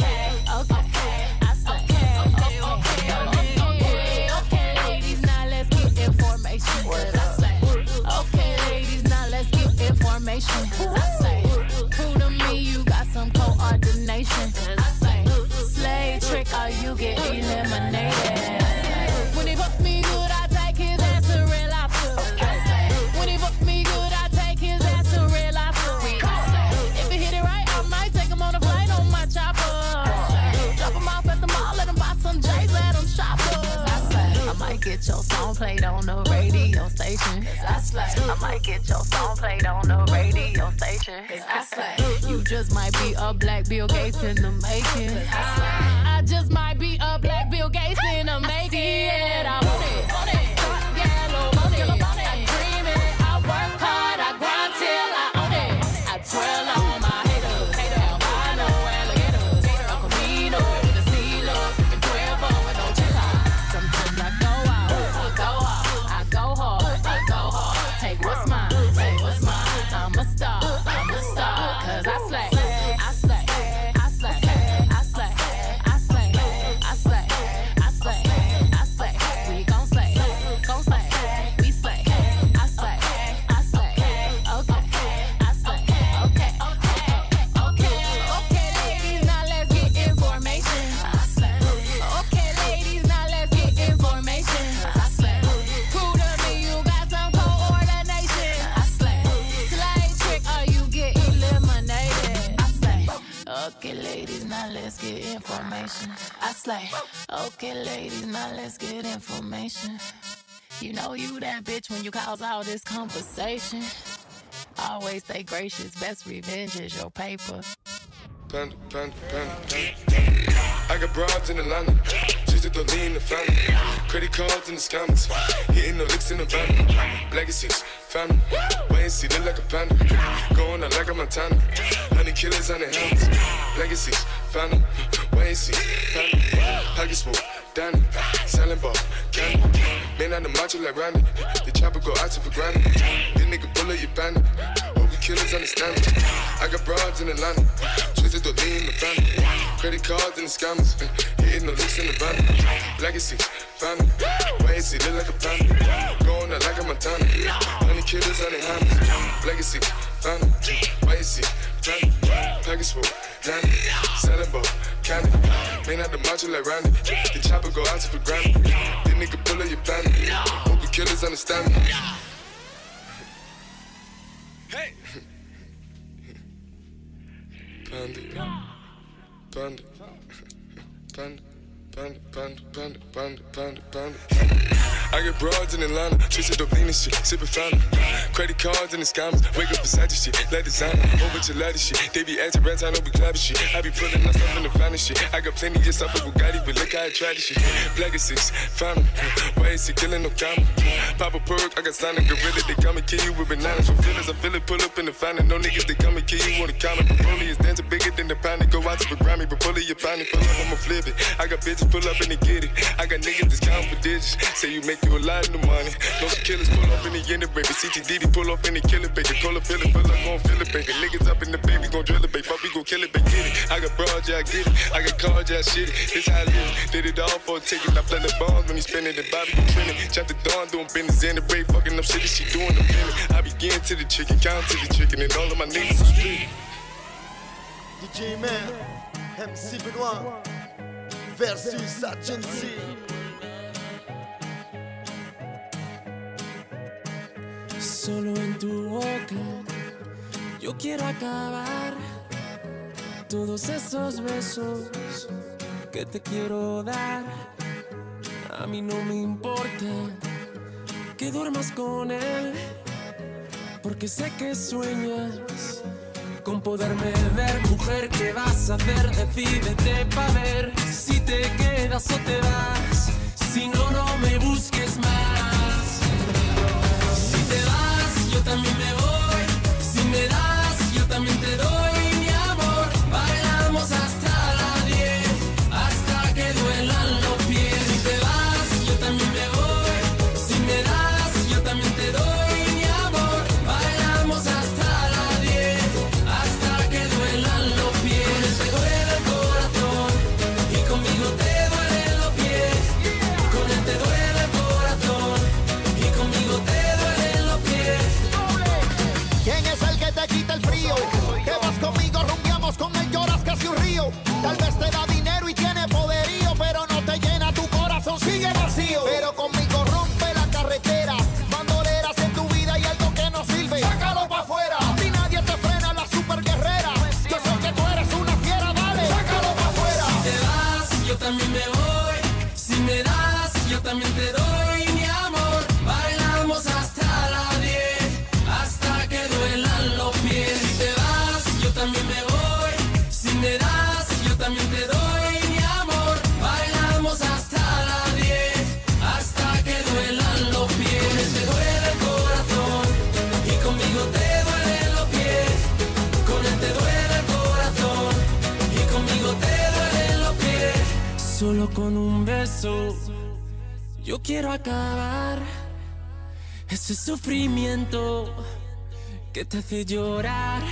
S17: Okay, I slay. Okay, okay, okay, okay, ladies, now let's get information. Cause I slay. Okay, ladies, now let's get information. Cause I slay. Prove to me you got some coordination. Cause I slay. Slay trick or you get eliminated. When he fuck me good, I take his ass to real life. When he fuck me good, I take his ass to real life. If he hit it right, I might take him on a flight on my chopper. Drop him off at the mall, let him buy some J's, let him shop us. I might get your song played on the radio station. I slay. I might get your song played on the radio station. I slay. You just might be a black Bill Gates in the making. I slay. I just might be a black Bill Gates in the making. I want it, want it. Start yellow, want it. I dream it, I work hard, I grind till I own it. I twirl on my haters, albino alligators. El Camino with the CeeLo, sipping Cuervo and Ochita. Sometimes I go out, I go out, I go hard, I go hard. Take what's mine, say what's mine. I'm a star, I'm a star. Cause I slay, I slay, I slay, I slay, I slay, I slay, I slay, I slay. We gon' slay, gon' slay, we slay. I slay, I slay, okay, I slay, okay, okay, okay, okay, ladies, now let's get information. I slay, okay, ladies, now let's get information. I slay, prove to me you got some coordination. I slay, slay trick or you get eliminated. I slay, okay, ladies, now let's get information. I slay, okay, ladies, now let's get information. You know you that bitch when you cause all this conversation. Always stay gracious, best revenge is your paper.
S14: Panda, panda, panda, panda. I got broads in Atlanta, just to the lean the family. Credit cards in the scammers, hitting the licks in the van. Legacies, family, wait and see, look like a panda. Going out like a Montana, honey killers on their hands. Legacies, family, wait and see, family. Pockets full, Danny, selling ball, candy. Man out the macho like Randy, the chopper go out to for granted. This nigga bullet, you bandit. Hope we killers understand me. I got broads in Atlanta, twisted the lean in the family. Credit cards in the scammers, hitting the licks in the van. Legacy, family, wait and see, look like a panda. Going out like a Montana, honey killers on their hands. Legacy, family, wait and see, family. Package full, Danny, selling ball, candy. Man out the macho like Randy, the chopper go out to for granted. This nigga bullet, you bandit. Hope the killers understand me. Hey! Panda, panda, panda, panda, panda, panda, panda, panda, panda. I get broads in Atlanta, twisted up lean and shit, sippin' fountain. Credit cards in the scammers, wake up beside this shit, let designer, whole bunch of lattice shit. They be acting rats, I know we clapping shit. I be pulling my stuff in the finest shit. I got plenty of stuff with Bugatti, but look how I try this shit. Black is six, family, why is he killing no comma? Pop a perk, I got signed a gorilla, they come and kill you with bananas. From feelings, I feel it, pull up in the fountain. No niggas, they come and kill you on the counter. Broly is dancing bigger than the pound. Go out to the Grammy, but pull it, you pound it, pull up, I'ma flip it. I got bitches pull up and they get it. I got niggas that's counting for digits. Say you make you a lot of money. No killers pull up in the end of baby. C T D D pull up in the killer baby. Call a feeling, pull up, gon' feel it, baby. Niggas up in the baby, gon' drill it, baby. Fuck, we gon' kill it, baby. Get it. I got broad, yeah, I get it. I got cards, yeah, I shit it. This how I live. Did it all for a ticket. I play the bombs when he spinning the Bobby, you trending. Chop the dawn, doing business in the break. Fucking up shit that she doing the feeling. I be
S2: again to the chicken, count to the chicken, and all of my niggas is free.
S10: D J Mer, M C Benoît versus Agency.
S18: Solo en tu boca yo quiero acabar todos esos besos que te quiero dar. A mí no me importa que duermas con él, porque sé que sueñas con poderme ver. Mujer, ¿qué vas a hacer? Decídete pa' ver si te quedas o te vas. Si no, no me busques más. Si te vas, yo también me voy. Si me das, yo también te doy. Mi amor, bailamos hasta las diez, hasta que duelan los pies. Si te vas, yo también me voy. Si me das, yo también te doy. Mi amor, bailamos hasta las diez, hasta que duelan los pies. Te duele el corazón y conmigo te duelen los pies. Con él te duele el corazón y conmigo te duelen los pies.
S3: ¿Quién es el que te quita el frío? Que vas conmigo, rumbiamos con él, lloras casi un río. Tal vez te da dinero y tiene poderío, pero no te llena tu corazón, sigue vacío. Pero conmigo rompe la carretera, bandoleras en tu vida y algo que no sirve, sácalo pa' afuera. A ti nadie te frena, la super guerrera. Yo sé que tú eres una fiera, dale, sácalo pa' afuera.
S18: Si te vas, yo también me voy. Si me das, yo también te doy. Mi amor, bailamos hasta las diez, hasta que duelan los pies. Si te vas, yo también me voy. Si me das, yo también te doy. Mi amor, bailamos hasta las diez, hasta que duelan los pies. Te duele el corazón y conmigo te duelen los pies. Con él te duele el corazón y conmigo te duelen los pies. Solo con un beso yo quiero acabar ese sufrimiento que te hace llorar.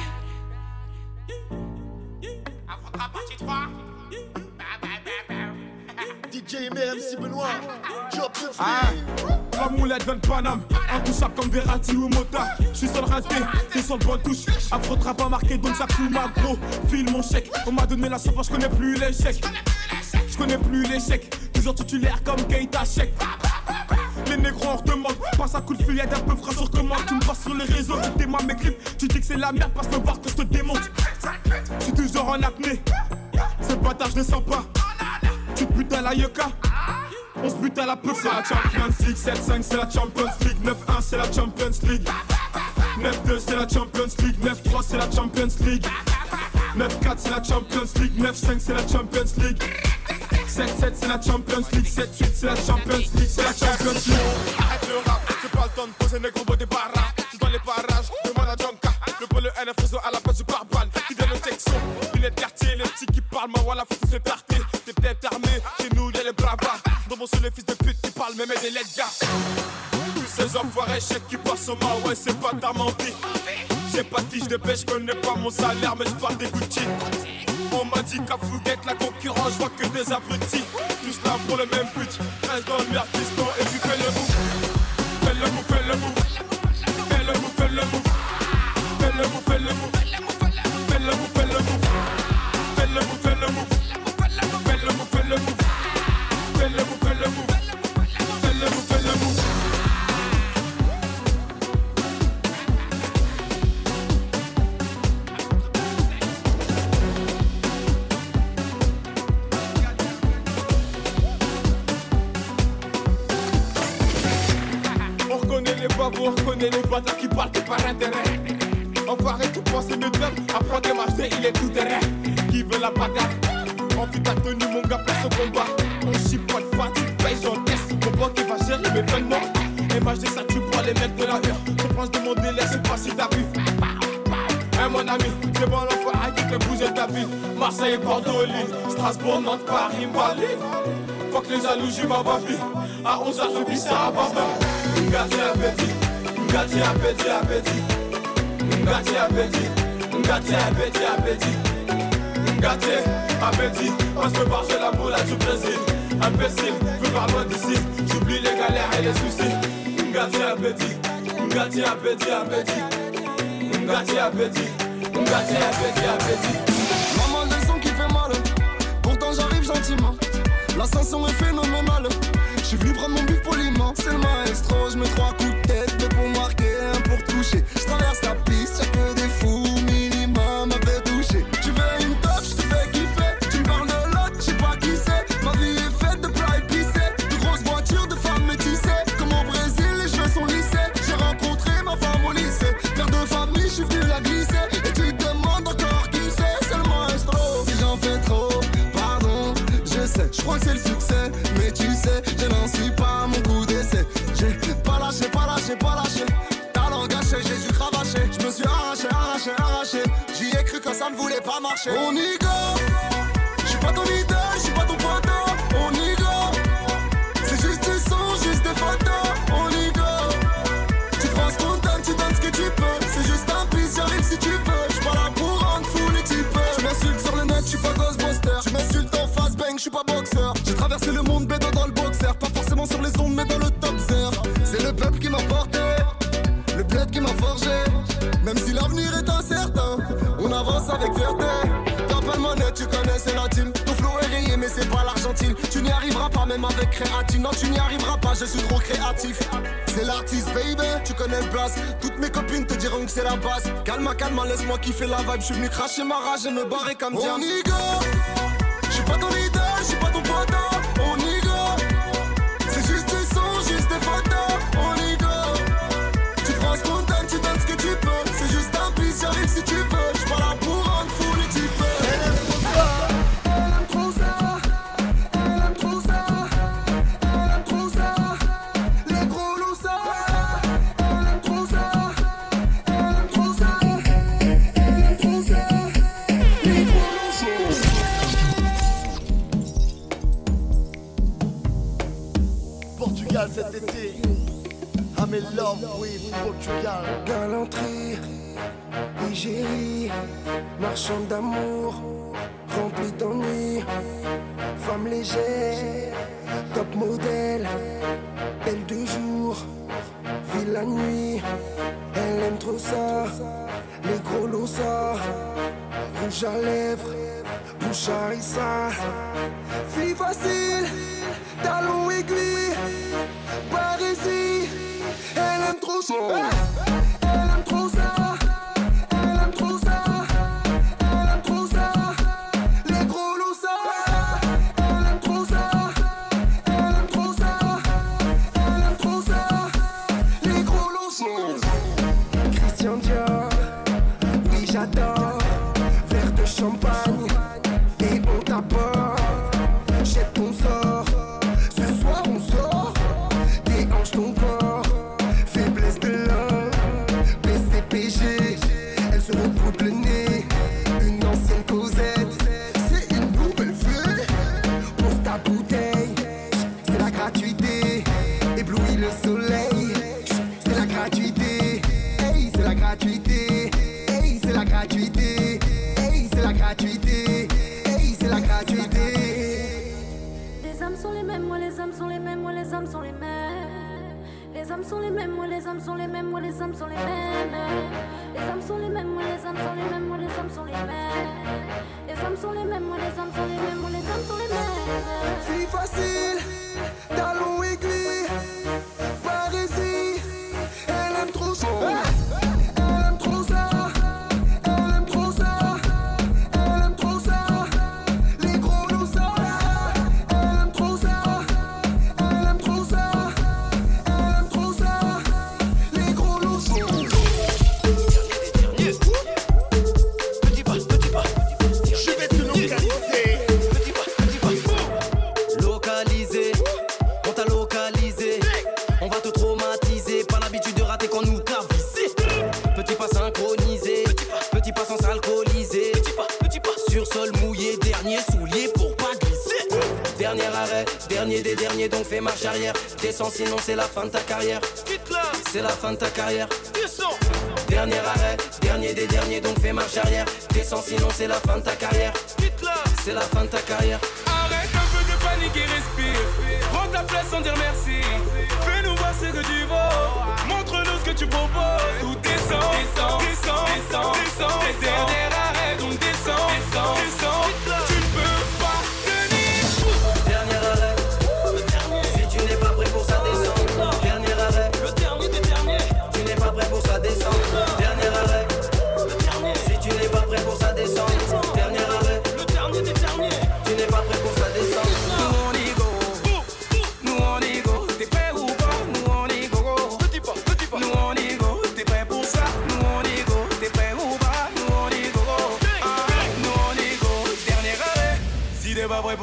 S10: D J Mer, M C Benoît, Job de
S11: Ah,
S10: Free.
S11: la moulette vient de Paname, intouchable comme Verratti ou Mota. J'suis sur le raté, t'es sur le bon touche. Afro trap pas marqué donc ça coule ma gros. File mon chèque, on m'a donné la sauce, j'connais plus l'échec. J'connais plus l'échec, toujours titulaire comme Keita Sheik. Les négros on redemande, passe à coup de fil, y'a d'un peu frais sur commande. Tu me passes sur les réseaux, tu démarres mes clips. Tu dis que c'est la merde, passe me voir que je te démonte. J'suis toujours en apnée, ce bâtard je le sens pas. Tu te butes à la yoka, on se bute à la peu. C'est la Champions League, sept cinq c'est la Champions League, neuf un c'est la Champions League, neuf deux c'est la Champions League, neuf trois c'est la Champions League, neuf quatre c'est la Champions League, neuf cinq c'est la Champions League, sept sept c'est la Champions League, sept huit c'est la Champions League, c'est la Champions League. Arrête le rap, j'ai pas le temps de poser des gros des barras. Tu dans les parages, demande à Jonka. Le polo N F réseau à la place du pare-balles. Qui donne le texto, lunettes quartier, les petits qui parlent, ma voilà, faut tous les tarter. T'es peut-être armé, chez nous y'a les bravards. Dans mon seul les fils de pute qui parlent, même des lettres gars. Tous ces enfoirés chèques qui passent au mal, ouais c'est pas ta mentie. J'ai pas de fiche de pêche, j'connais pas mon salaire, mais j'parle des Gucci. On m'a dit qu'à Fouguette, la concurrence, j'vois que des abrutis. Tous là pour le même but, reste dans le merde piston et puis fais le move. Fais le move, fais le move. Fais le move, fais le move. Fais le move, fais le move. Fais le move, fais le move. Fais le move, fais le move. Fais le move, fais le move. Fais le move, fais le move. Fais le move, fais le move. On reconnaît les bâtards qui parlent que par intérêt. Enfoiré, tu penses de faire. Apprends tes marcher, il est tout terrain. Qui veut la bagarre? Envie ta tenue, mon gars, place au combat. On chipote pas, tu payes, j'encaisse. Mon banc qui va gérer mes vêtements. Image de ça, tu prends les mecs de la heure. Je pense de mon délai, c'est pas si t'as vu. Hein, mon ami, c'est bon l'enfoiré qui fait bouger ta ville. Marseille, Bordeaux, Lille, Strasbourg, Nantes, Paris, Malines. Faut que les jaloux jouent ma baby. À onze heures, je vis ça à Baba. Ngati appétit, Ngati appétit, appétit. Ngati appétit, Ngati appétit, appétit. Ngati appétit, on se barge la boule du Brésil. Imbécile, veux voir loin d'ici. J'oublie les galères et les soucis. Ngati appétit, Ngati appétit, appétit. Ngati appétit. Ngati appétit, appétit.
S3: Maman, le son qui fait mal. Pourtant j'arrive gentiment. L'ascension est phénoménale. J'suis venu prendre mon bif poliment. C'est le maestro, j'mets trois coups de tête. Deux pour marquer, un pour toucher. J'traverse la piste, y'a que des fous. Minimum après toucher. Tu veux une top, j'te fais kiffer. Tu me parles de l'autre, j'sais pas qui c'est. Ma vie est faite de plats épicés. De grosses voitures, de femmes métissées. Comme au Brésil, les cheveux sont lissés. J'ai rencontré ma femme au lycée. Père de famille, j'suis venu la glisser. Et tu te demandes encore qui c'est. C'est le maestro. Si j'en fais trop, pardon, je sais. J'crois que c'est le succès, mais tu sais, je n'en suis pas à mon coup d'essai. J'ai pas lâché, pas lâché, pas lâché. Talent gâché, j'ai dû cravacher. Je me suis arraché, arraché, arraché. J'y ai cru quand ça ne voulait pas marcher. On y go. J'suis pas ton idole, j'suis pas ton poteau. On y go. C'est juste du son, juste des photos. On y go. Tu te penses content, tu donnes ce que tu peux. C'est juste un bis, j'arrive si tu veux. J'suis pas là pour rendre fou les types. J'm'insulte sur le net, j'suis pas Ghostbuster. Tu m'insultes en face, bang, j'suis pas boxeur. J'ai traversé le monde, bédo dans le boxer. Pas forcément sur les ondes, mais dans le top zero. C'est le peuple qui m'a porté, le bled qui m'a forgé. Même si l'avenir est incertain, on avance avec fierté. T'appelles monnaie, tu connais, c'est la team. Ton flow est rayé, mais c'est pas l'Argentine. Tu n'y arriveras pas, même avec créatine. Non, tu n'y arriveras pas, je suis trop créatif. C'est l'artiste, baby, tu connais le place. Toutes mes copines te diront que c'est la base. Calme, calme, laisse-moi kiffer la vibe. Je suis venu cracher ma rage et me barrer comme Diane. On y go. J'suis pas ton idole, j'suis pas ton poteau. On y go. C'est juste du son, juste des photos. On y go. Tu te penses content, tu donnes ce que tu peux. C'est juste un bis, j'arrive si tu veux. J'suis pas là pour rendre fou les types. Elle aime trop ça. Elle aime trop ça. Elle aime trop ça. Elle aime trop ça. Les gros loups ça. Elle aime trop ça. Elle aime trop ça. Elle aime trop ça. Les gros loups ça.
S10: Portugal cet été. I'm in love with Portugal.
S15: Galanterie, égérie, marchand d'amour, rempli d'ennui, femme légère, top modèle, belle de jour, vie la nuit, elle aime trop ça, les gros losa, rouge à lèvres, bouche à harissa, fille facile, talon aiguille, Parisie. Elle aime trop ça. Elle aime trop ça. Elle aime trop ça. Elle aime trop ça. Les gros loups ça. Elle aime trop ça. Elle aime trop ça. Elle aime trop ça. Les gros loups ça. Christian Dior. Oui j'adore. Verre de champagne. Et on t'apporte. Jette ton sort. Ce soir on sort. Déhanche ton corps. Faiblesse de l'homme, B C P G, elle se repoudre le nez, une ancienne Cosette, c'est une nouvelle fée, pose ta bouteille, c'est la gratuité, éblouit le soleil, c'est la gratuité, hey, c'est la gratuité, hey, c'est la gratuité, hey, c'est la gratuité, hey, c'est la gratuité.
S5: Les âmes sont les mêmes, moi les âmes sont les mêmes, moi les âmes sont les mêmes. Les âmes sont les mêmes, moi les âmes sont les mêmes, moi les âmes sont les mêmes. Les âmes sont les mêmes, moi les âmes sont les mêmes, moi les âmes sont les mêmes. Les âmes sont les mêmes, moi les âmes sont les mêmes, moi les âmes sont les mêmes.
S15: Fille facile, talon aiguille, Parisie, elle aime trop ça. Elle aime trop ça. Elle aime trop ça. Elle aime trop ça. Les gros loups ça. Elle aime trop ça. Elle aime trop ça.
S13: Dernier des derniers, donc fais marche arrière. Descends, sinon c'est la fin de ta carrière. C'est la fin de ta carrière. Dernier arrêt, dernier des derniers, donc fais marche arrière. Descends, sinon c'est la fin de ta carrière. C'est la fin de ta carrière.
S11: Arrête un peu de panique et respire. Prends ta place sans dire merci. Fais-nous voir ce que tu vaux. Montre-nous ce que tu proposes.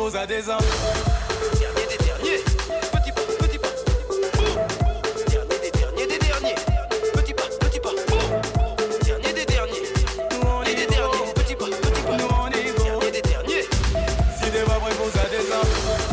S11: prévôt à des ans.
S19: Dernier des derniers, petit pas, petit pas. Dernier des derniers, des derniers. Petit pas, petit pas. Dernier des derniers.
S11: Nous on est
S19: des derniers, petit pas, petit pas.
S11: Nous on est
S19: dernier des derniers.
S11: Si des voix prévôt à des ans.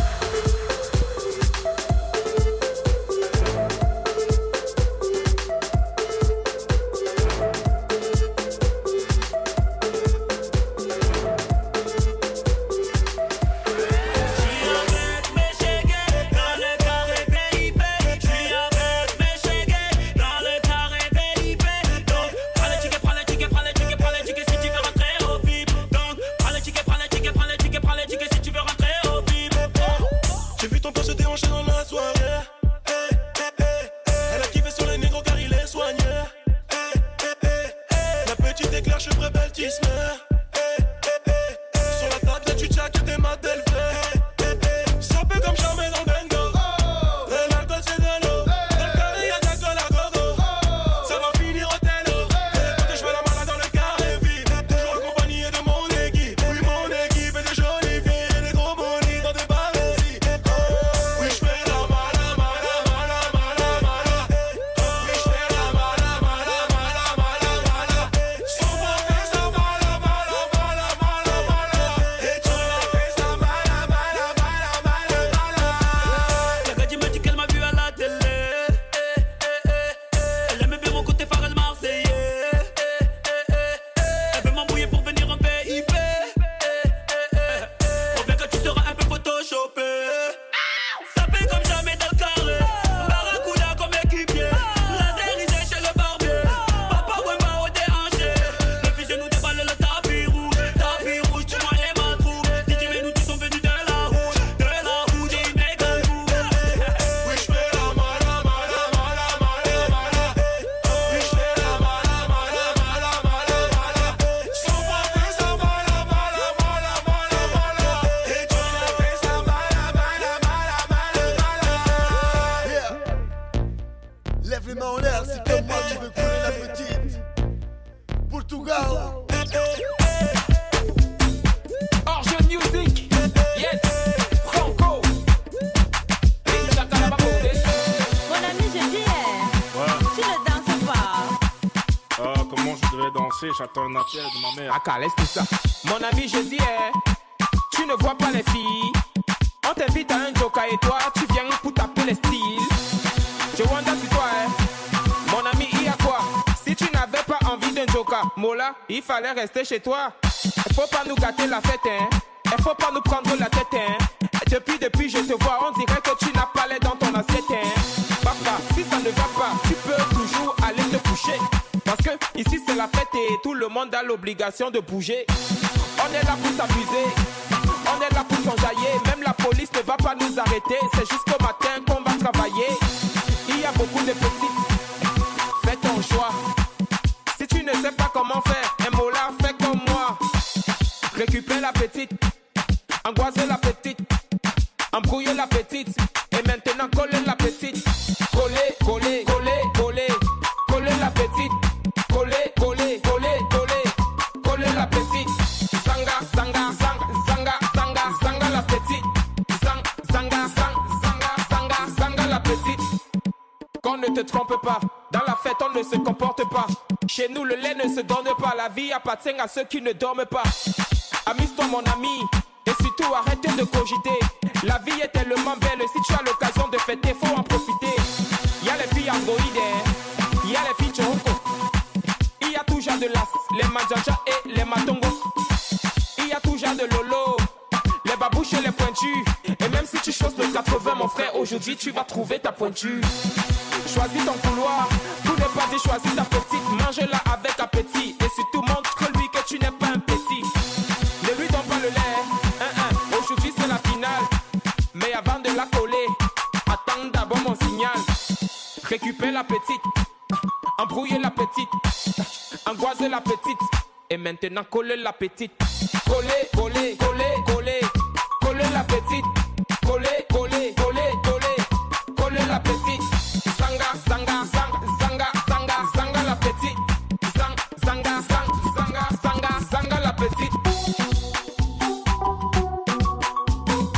S20: J'attends un appel de ma mère.
S21: Ah, laisse tout ça. Mon ami, je dis, eh, tu ne vois pas les filles. On t'invite à un joker et toi, tu viens pour taper les styles. Je wonder si toi, eh, mon ami, il y a quoi? Si tu n'avais pas envie d'un joker, Mola, il fallait rester chez toi. Il faut pas nous gâter la fête, hein. Il faut pas nous prendre la tête, hein. Depuis, depuis, je te vois, on dirait que tu n'as pas l'air dans ton assiette, hein. Papa, si ça ne va pas, tu peux toujours aller te coucher. Parce que ici c'est la fête et tout le monde a l'obligation de bouger. On est là pour s'amuser, on est là pour s'enjailler. Même la police ne va pas nous arrêter, c'est jusqu'au matin qu'on va travailler. Il y a beaucoup de petites, fais ton choix. Si tu ne sais pas comment faire, un mot là, fais comme moi. Récupère la petite, angoisser la petite, embrouiller la petite. Et maintenant coller la petite. Coller, coller, coller, coller, coller la petite. Coller, coller, coller, coller, coller la petite. Zanga, zanga, zanga, zanga, zanga, zanga la petite. Zang, zanga, zang, zanga, zanga, zanga la petite. Qu'on ne te trompe pas, dans la fête on ne se comporte pas. Chez nous le lait ne se donne pas, la vie appartient à ceux qui ne dorment pas. Amuse-toi mon ami, et surtout arrête de cogiter. La vie est tellement belle, si tu as l'occasion de fêter, faut en profiter. Y'a les filles androïdes, y'a les filles choroko. Il y a tout genre de las, les manjaja et les matongos. Il y a tout genre de lolo, les babouches et les pointus. Et même si tu choses le quatre-vingts mon frère, aujourd'hui tu vas trouver ta pointure. Choisis ton couloir, tout n'est pas dit, choisis ta petite. Mange-la avec appétit et surtout montre-lui que tu n'es pas un petit. Ne lui donne pas le lait, hein, hein. Aujourd'hui c'est la finale. Mais avant de la coller, attends d'abord mon signal. Récupère la petite, embrouiller la petite, angoiser la petite. Et maintenant coller la petite. Coller, coller, coller, coller, coller la petite. Coller, coller, coller, coller, coller la petite. Zanga, zanga, zanga, zanga, zanga, zanga la petite. Zang, zanga, zang, zanga, zanga, zanga la petite.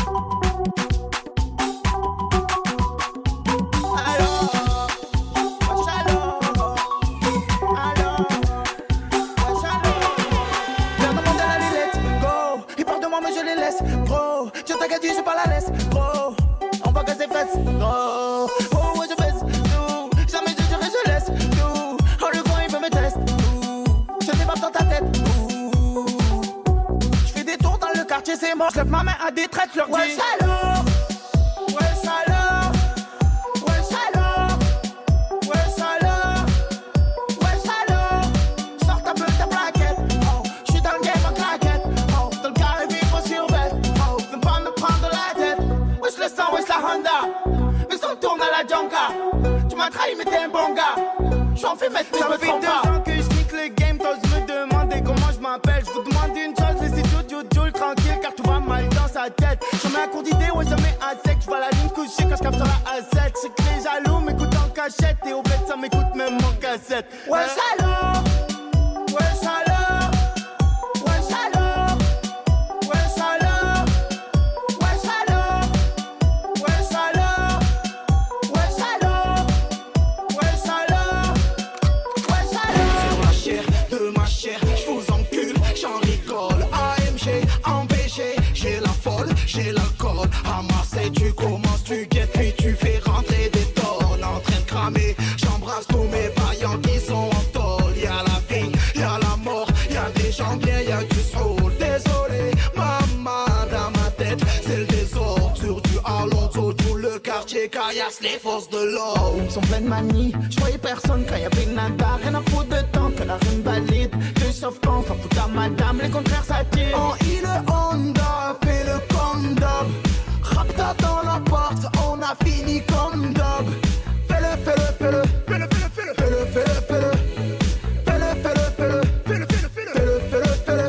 S20: est mort, je lève ma main à des traites, leur dis
S22: Wesh alors,
S20: wesh alors, wesh alors, wesh alors, wesh alors. Sors ta peu ta plaquette, oh, j'suis dans le game en claquette, oh, dans le carré vivre sur bête, oh, viens pas me prendre la tête. Wesh le sang, wesh la Honda, mais on tourne à la Jonka. Tu m'as trahi mais t'es un bon gars, j'en fais mettre mais je me trompe pas. Ça fait deux ans que j'nique le game, t'oses me demander comment je m'appelle. Je vous demande une chose, laissez tout Joule Joule tranquille car tout va mal dans sa tête. Jamais un cours d'idée, ouais jamais à sec. Je vois la ligne couchée quand je capte sur la A sept. C'est que les jaloux m'écoutent en cachette et au bled ça m'écoute même en cassette.
S22: Wesh alors,
S20: wesh alors, wesh alors, wesh alors, wesh alors, wesh alors, wesh alors, wesh alors, wesh alors.
S22: sur la chair de ma chair, je vous encule, j'en rigole. A M G, en B G, j'ai la folle, j'ai l'alcool. À Marseille tu commences, tu guettes, puis tu fais rentrer des tonnes. En train de cramer, j'embrasse tous mes vaillants qui sont en tôle. Y'a la vie, y'a la mort, y'a des gens bien, y'a du soul. Désolé, maman, dans ma tête, c'est le désordre. Sur du Alonso, tout le quartier caillasse les forces de l'ordre.
S20: Ils sont pleins de manie, je voyais personne quand y'avait nada. Rien à foutre de temps que la rime valide. Deux sauf quand, s'en fout à madame, les contraires s'attirent.
S22: En I le Honda, fais le condom. Rapta dans la porte, on a fini comme dub. Fais-le, fais-le, fais-le, fais-le, fais-le, fais-le, fais-le, fais-le, fais-le, fais-le, fais-le, fais-le, fais-le, fais-le, fais-le, fais-le.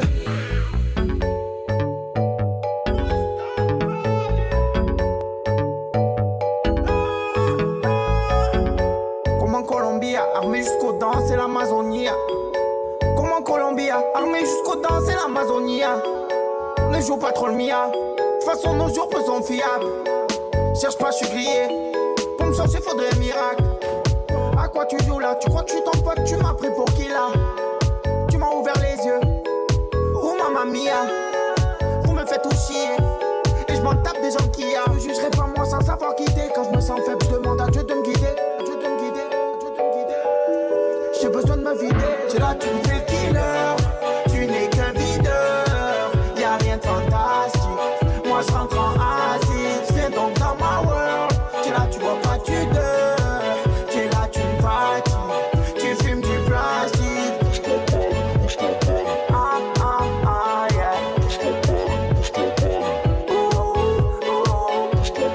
S20: Comme en Colombie, armé jusqu'aux dents, c'est l'Amazonie. Comme en Colombie, armé jusqu'aux dents, c'est l'Amazonie. Ne joue pas trop le mia. De toute façon, nos jours peu sont fiables. Cherche pas, je suis grillé. Pour me changer, faudrait un miracle. À quoi tu joues là? Tu crois que je suis ton pote? Tu m'as pris pour qui là? Tu m'as ouvert les yeux. Oh mamma mia, vous me faites tout chier. Et je m'en tape des gens qui a. Je jugerai pas moi sans savoir quitter. Quand je me sens faible, je demande à Dieu de me guider. Dieu de me guider, Dieu de me guider. J'ai besoin de me vider. Tu là, tu me fais le killer. Tu n'es qu'un videur. Y'a rien de fantastique. Moi je rentre en acide. Viens donc dans ma world. Tu là, tu vois pas, tu dors. Tu là, tu me fatigues. Tu fumes du plastique. Ah ah ah yeah. Ouh, ouh.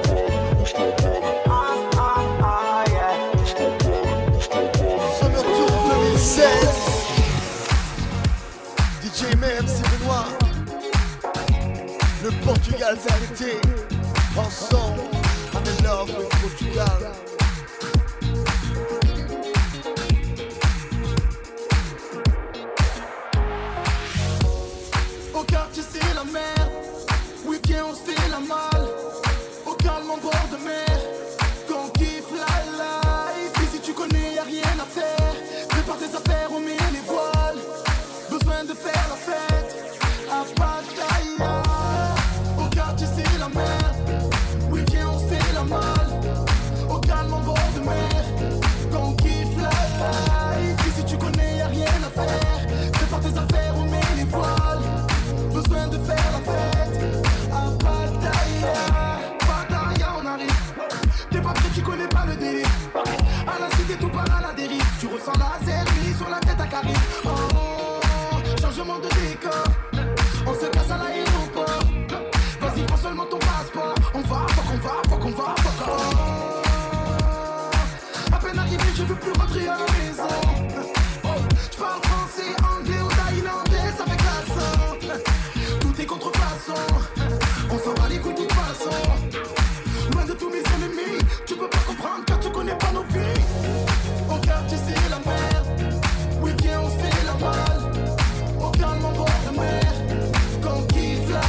S20: Ah ah ah yeah.
S10: Summer Tour deux mille seize. D J M M C Benoît. Le Portugal cet été. Ensemble, I'm in love with Portugal.
S22: Au quartier c'est la merde. Oui viens on se fait la malle. Au calme en bord de mer. Quand on kiffe la life. Ici tu connais y'a rien à faire. Prépare tes affaires, on met les voiles. Besoin de faire la fête à Pattaya. Au quartier c'est la merde. Oui viens on se fait la malle. Au calme en bord de mer. Quand on kiffe la life. Ici tu connais y'a rien à faire. Prépare tes affaires, on met les voiles. Besoin de faire la fête à Pattaya. Pattaya on arrive. T'es pas prêt, tu connais pas le délire. À la cité tout part à la dérive. Tu ressens la zermie sur la tête à Carrie. Oh, changement de décor. On se casse à l'aéroport. Vas-y prends seulement ton passeport. On va, faut qu'on va, faut qu'on va, faut qu'on oh. À peine arrivé je veux plus rentrer à la maison. Oh, je parle français, anglais ou thaïlandais avec l'accent. Tout est contrefaçon. On s'en va les couilles de toute façon. Loin de tous mes ennemis. Tu peux pas comprendre car tu connais pas nos vies. Au quartier c'est la merde. Oui viens on se fait la malle. Au calme en bord de mer. Quand on kiffe la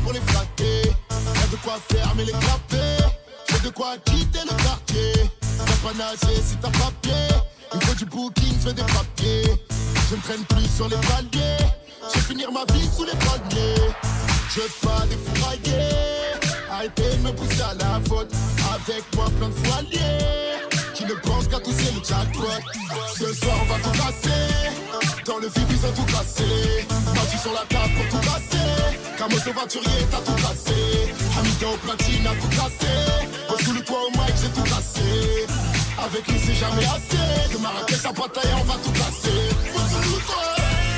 S3: pour les flatter. Y'a de quoi faire mais les clapper. J'ai de quoi quitter le quartier. T'as pas nager si t'as pas pied. Il faut du booking, fais des papiers. Je ne traîne plus sur les paliers. Je vais finir ma vie sous les palmiers. Je veux pas des fourraillers. Arrêtez de me pousser à la faute. Avec moi plein de foiliers qui ne pensent qu'à tousser le jackpot. Ce soir on va tout casser. Dans le vide ils ont tout cassé. Battu sur la table pour tout casser. Camos au voiturier t'as tout cassé. Amiga au platine a tout cassé. Au sous le toit au mic j'ai tout cassé. Avec lui c'est jamais assez. De Marrakech à Pattaya on va tout casser. Au sous le toit.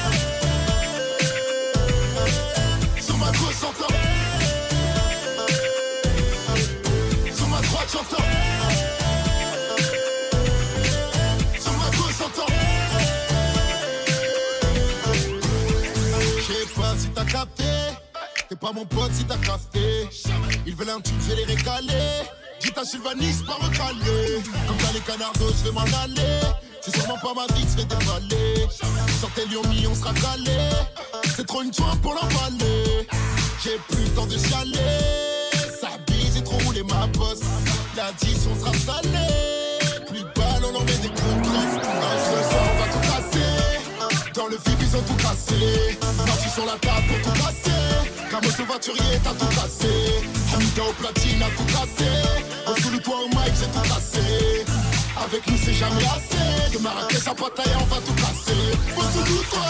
S3: Sur ma gauche j'entends. Sur ma droite j'entends. Sur ma gauche j'entends. Je sais pas si t'as capté. T'es pas mon pote si t'as crafté. Ils veulent un tube, je vais les récaler. Dis ta Sylvanis, pas recaler. Comme t'as les canardos, je vais m'en aller. C'est sûrement pas ma vie que je vais déballer. Sortez Lyon, on sera calé. C'est trop une joie pour l'emballer. J'ai plus le temps de chialer. Ça bise, j'ai trop roulé ma bosse. L'addition sera salée. Plus de balles, on en met des coups de crosse. Ce soir, on va tout casser. Dans le vide, ils ont tout cassé. Parti sur la table pour tout casser. Camos au voiturier, t'as tout cassé. Amiga au platine, a tout cassé. Au sous le toit au mic, j'ai tout cassé. Avec nous, c'est jamais assez. De Marrakech à Pattaya, on va tout casser. Au sous le toit.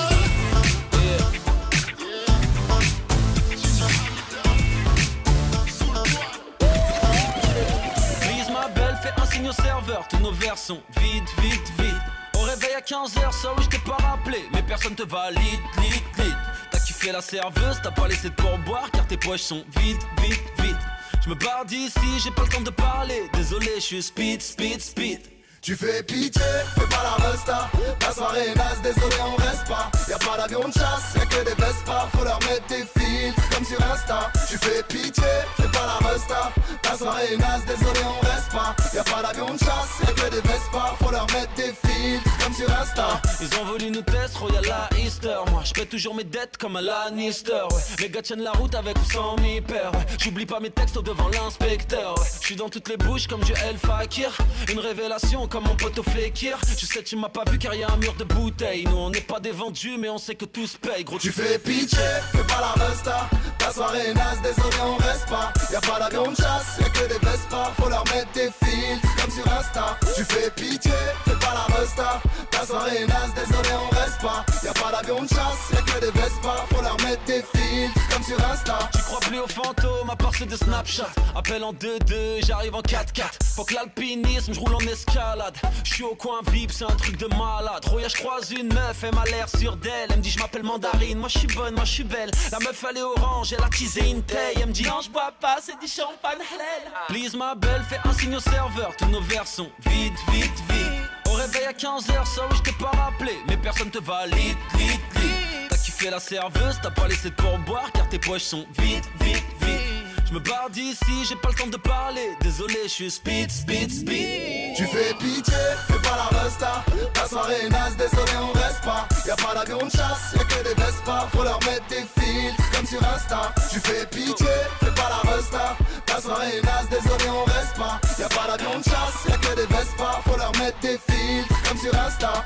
S1: Signe au serveur, tous nos vers sont vides, vite, vite. Au réveil à quinze heures, ça oui je t'ai pas rappelé. Mais personne te valide, lit, lit. T'as kiffé la serveuse, t'as pas laissé de pourboire. Car tes poches sont vides, vite, vite. Je me barre d'ici, j'ai pas le temps de parler. Désolé, je suis speed, speed, speed.
S10: Tu fais pitié, fais pas la resta. La soirée est naze, désolé on reste pas. Y'a pas d'avion de chasse, y'a que des Vespa. Faut leur mettre des fils, comme sur Insta. Tu fais pitié, fais pas la resta. La soirée est naze, désolé on reste pas. Y'a pas d'avion de chasse, y'a que des Vespa. Faut leur mettre des fils, comme sur Insta.
S1: Ils ont voulu nous tester, Royal à Easter. Moi je paie toujours mes dettes comme un Lannister, ouais. Les gars tiennent la route avec ou sans mi-père, ouais. J'oublie pas mes textes devant l'inspecteur, ouais. Je suis dans toutes les bouches comme du El Fakir. Une révélation comme mon pote au Fekir. Je sais tu m'as pas vu car y'a un mur de bouteilles. Nous on n'est pas des vendus mais on sait que tout se paye. Gros
S10: tu fais pitié, fais pas la resta. Ta soirée est naze, désolé on reste pas. Y'a pas d'avion de chasse, y'a que des Vespa. Faut leur mettre des fils, comme sur Insta. Tu fais pitié, fais pas la resta. Ta soirée est naze, désolé on reste pas. Y'a pas d'avion de chasse, y'a que des Vespa. Faut leur mettre des fils, comme sur Insta.
S1: Tu crois plus aux fantômes à part ceux de Snapchat. Appelle en deux deux, j'arrive en quatre quatre. Faut que l'alpinisme, j'roule en escalade. J'suis au coin V I P, c'est un truc de malade. Roya, j'croise une meuf, elle m'a l'air sûre d'elle. Elle me dit j'm'appelle Mandarine, moi j'suis bonne, moi j'suis belle. La meuf elle est orange, elle a teasé une taille. Elle me dit non j'bois pas, c'est du champagne halal. Please ma belle, fais un signe au serveur. Tous nos verres sont vides, vite, vite. Au réveil à quinze heures, ça oui j't'ai pas rappelé. Mais personne te valide, vite, vite. T'as kiffé la serveuse, t'as pas laissé de pourboire. Car tes poches sont vides, vite, vite. Je me barre d'ici, j'ai pas le temps de parler. Désolé, je suis speed, speed, speed.
S10: Tu fais pitié, fais pas la resta. La soirée est naze, désolé on reste pas. Y'a pas d'avion de chasse, y'a que des Vespa. Faut leur mettre des fils, comme sur Insta. Tu fais pitié, fais pas la resta. La soirée est naze, désolé on reste pas. Y'a pas d'avion de chasse, y'a que des Vespa. Faut leur mettre des fils, comme sur Insta.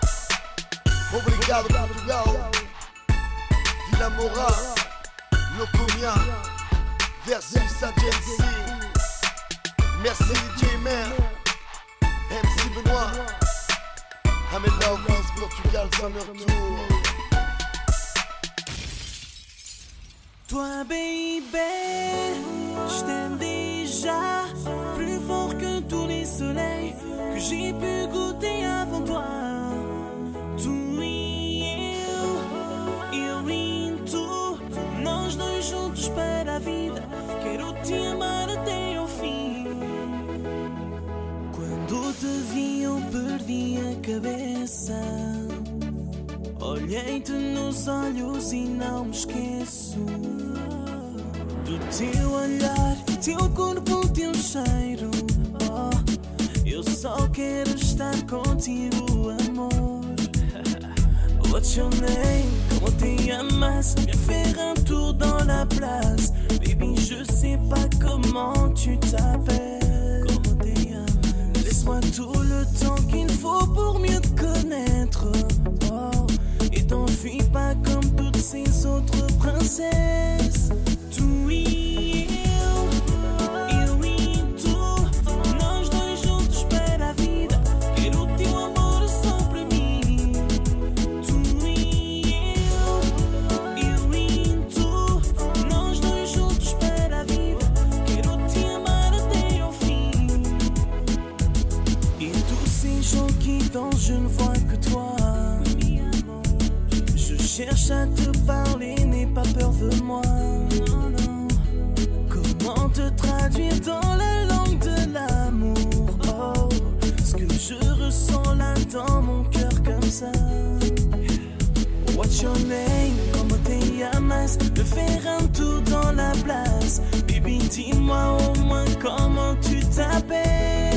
S3: Obrigado, Portugal. Villa Moura, Locomia. Versus Agency. Merci D J Mer, M C Benoît. I'm in love with Portugal Summer Tour.
S8: Toi baby, je t'aime déjà plus fort que tous les soleils que j'ai pu goûter avant toi. Tu e eu, eu em tu, nós dois juntos para a vida. Quero te amar até ao fim. Quando te vi eu perdi a cabeça. Olhei-te nos olhos e não me esqueço do teu olhar, teu corpo, teu cheiro. Oh, eu só quero estar contigo, amor. What's your name? Comment te llamas? Viens faire un tour dans la place. Baby, Baby, je sais pas comment tu t'appelles. Comment t'es âme. Laisse-moi tout le temps qu'il faut pour mieux te connaître. Oh, et t'enfuis pas comme toutes ces autres princesses. Tout y est. Je ne vois que toi. Je cherche à te parler, n'aie pas peur de moi. Comment te traduire dans la langue de l'amour? Oh, ce que je ressens là dans mon cœur comme ça. What's your name? Comment te llamas? De faire un tour dans la place. Baby, dis-moi au moins comment tu t'appelles.